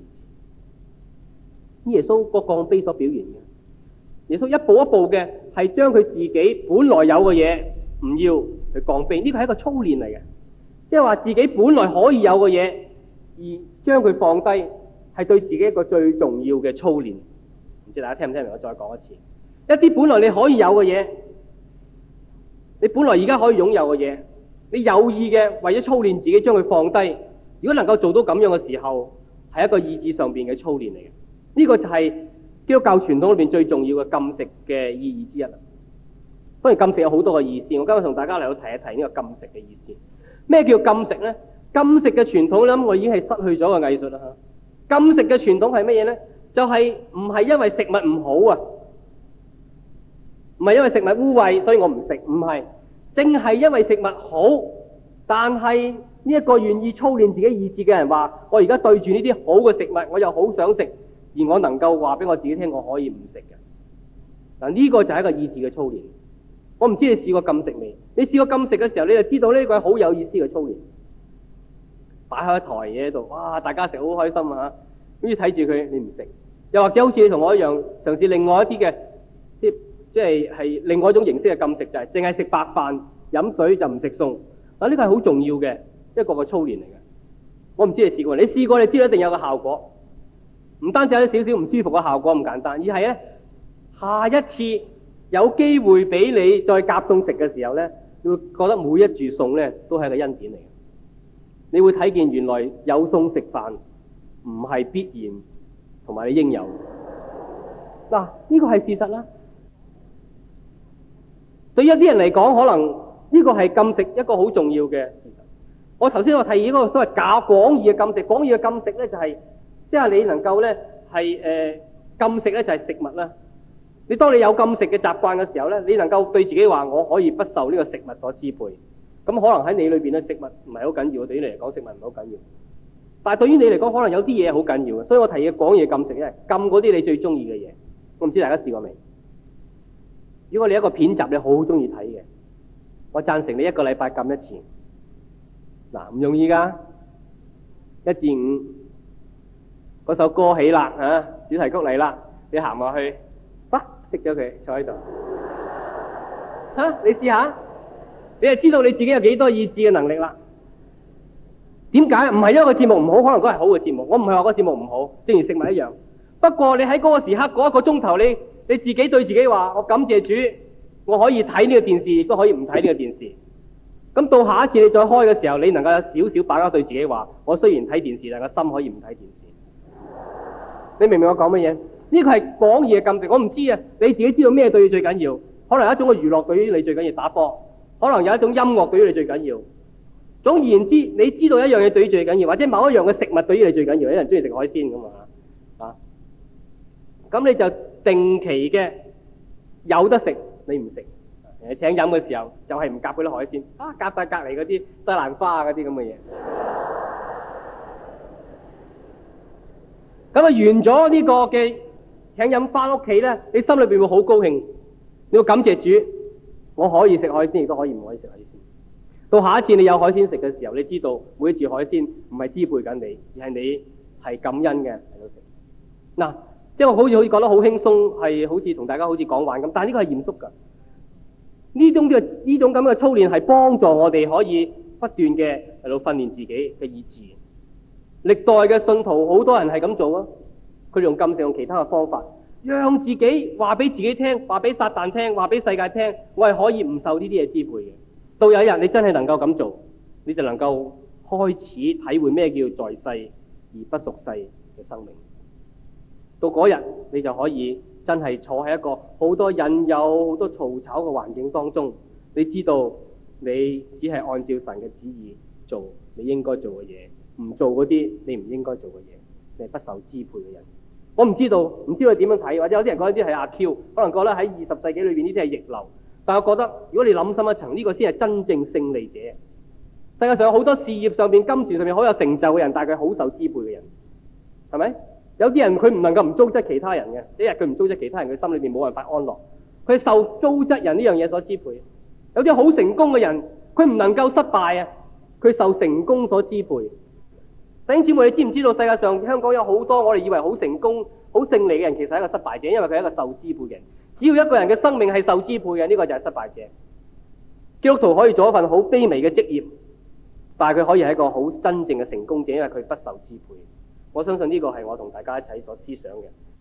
耶穌個降卑所表現嘅，耶穌一步一步嘅係將佢自己本來有嘅嘢唔要去降卑，呢個係一個操練嚟嘅。即係話自己本來可以有嘅嘢，而將佢放低，係對自己一個最重要嘅操練。唔知大家聽唔聽明？我再講一次，一啲本來你可以有嘅嘢，你本來而家可以擁有嘅嘢，你有意嘅為咗操練自己將佢放低。如果能夠做到咁樣嘅時候，係一個意志上邊嘅操練嚟嘅。呢個就係基督教傳統裏邊最重要嘅禁食嘅意義之一啦。當然禁食有好多嘅意思，我今日同大家嚟到提一提呢個禁食嘅意思。咩叫禁食呢？禁食嘅傳統咧，我已經係失去咗個藝術啦。禁食嘅傳統係乜嘢呢？就係唔係因為食物唔好啊，唔係因為食物污穢所以我唔食，唔係，正係因為食物好，但係呢一個願意操練自己意志嘅人話：我而家對住呢啲好嘅食物，我又好想食，而我能夠話俾我自己聽，我可以唔食嘅。嗱，呢個就係一個意志嘅操練。我唔知你試過禁食未？你試過禁食嘅時候，你就知道呢個係好有意思嘅操練。擺開一台嘢喺度，哇！大家食好開心啊！跟住睇住佢，你唔食，又或者好似你同我一樣，嘗試另外一啲嘅，即係另外一種形式嘅禁食，就係淨係食白飯、飲水就唔食餸。嗱，呢個係好重要嘅一個操練嚟嘅。我唔知你試過，你試過你知道一定有個效果，唔單止有少少唔舒服嘅效果咁簡單，而係咧下一次有機會俾你再夾餸食嘅時候咧，你會覺得每一箸餸咧都係一個恩典嚟嘅。你會睇見原來有餸食飯唔係必然同埋你應有。嗱，呢個係事實啦。對於一啲人嚟講，可能呢個係禁食一個好重要嘅事實。我頭先我提議嗰個所謂廣義嘅禁食，廣義嘅禁食咧就係即係你能夠咧係禁食咧就係食物啦。你當你有禁食嘅習慣嘅時候咧，你能夠對自己話我可以不受呢個食物所支配。咁可能喺你裏邊咧，食物唔係好緊要，對於你嚟講食物唔係好緊要。但係對於你嚟講，可能有啲嘢好緊要嘅，所以我提議廣義禁食咧，禁嗰啲你最中意嘅嘢。我唔知大家試過未？如果你一個片集你好中意睇嘅，我贊成你一個禮拜禁一次。嗱，唔容易㗎，1至5嗰首歌起啦嚇，主題曲嚟啦，你行落去，熄咗佢，坐喺度嚇，你試下。你就知道你自己有幾多意志嘅能力啦。點解？唔係因為個節目唔好，可能嗰係好嘅節目。我唔係話個節目唔好，正如食物一樣。不過你喺嗰個時刻嗰1個鐘頭，你自己對自己話：我感謝主，我可以睇呢個電視，亦都可以唔睇呢個電視。咁到下一次你再開嘅時候，你能夠有少少把握對自己話：我雖然睇電視，但個心可以唔睇電視。你明唔明我講乜嘢？呢個係廣義嘅禁食。我唔知啊，你自己知道咩對你最緊要？可能有一種嘅娛樂對於你最緊要打波。可能有一種音樂對於你最緊要， 總而言之，你知道一樣嘢對你最緊要，或者某一樣嘅食物對於你最緊要，有人中意食海鮮咁啊，咁你就定期嘅有得食，你唔食。請飲嘅時候就係唔夾嗰啲海鮮，夾晒隔離嗰啲西蘭花啊嗰啲咁嘅嘢。咁啊完咗呢個嘅請飲翻屋企咧，你心裏邊會好高興，你要感謝主，我可以食海鮮，亦都可以唔可以食海鮮。到下一次你有海鮮食嘅時候，你知道每一次海鮮唔係支配緊你，而係你係感恩嘅喺度食。嗱，即係我好似講得好輕鬆，係好似同大家好似講玩咁，但係呢個係嚴肅㗎。呢種咁嘅操練係幫助我哋可以不斷嘅喺度訓練自己嘅意志。歷代嘅信徒好多人係咁做啊，佢哋用禁食，用其他嘅方法，讓自己話俾自己聽，話俾撒旦聽，話俾世界聽，我係可以唔受呢啲嘢支配嘅。到有一日你真係能夠咁做，你就能夠開始體會咩叫在世而不屬世嘅生命。到嗰日你就可以真係坐喺一個好多引誘、好多嘈吵嘅環境當中，你知道你只係按照神嘅旨意做你應該做嘅嘢，唔做嗰啲你唔應該做嘅嘢，你係不受支配嘅人。我唔知道你點樣睇，或者有啲人覺得呢啲係阿 Q， 可能覺得喺20世紀裏邊呢啲係逆流。但我覺得如果你諗深一層，呢個先係真正勝利者。世界上有好多事業上邊、金錢上面好有成就嘅人，但係佢好受支配嘅人，係咪？有啲人佢唔能夠唔糟質其他人嘅，一日佢唔糟質其他人，佢心裏邊冇辦法安樂。佢受糟質人呢樣嘢所支配。有啲好成功嘅人，佢唔能夠失敗啊，佢受成功所支配。弟兄姊妹，你知唔知道世界上香港有好多我哋以為好成功、好勝利嘅人，其實係一個失敗者，因為佢係一個受支配嘅人。只要一個人嘅生命係受支配嘅，呢個就係失敗者。基督徒可以做一份好卑微嘅職業，但係佢可以係一個好真正嘅成功者，因為佢不受支配。我相信呢個係我同大家一齊所思想嘅。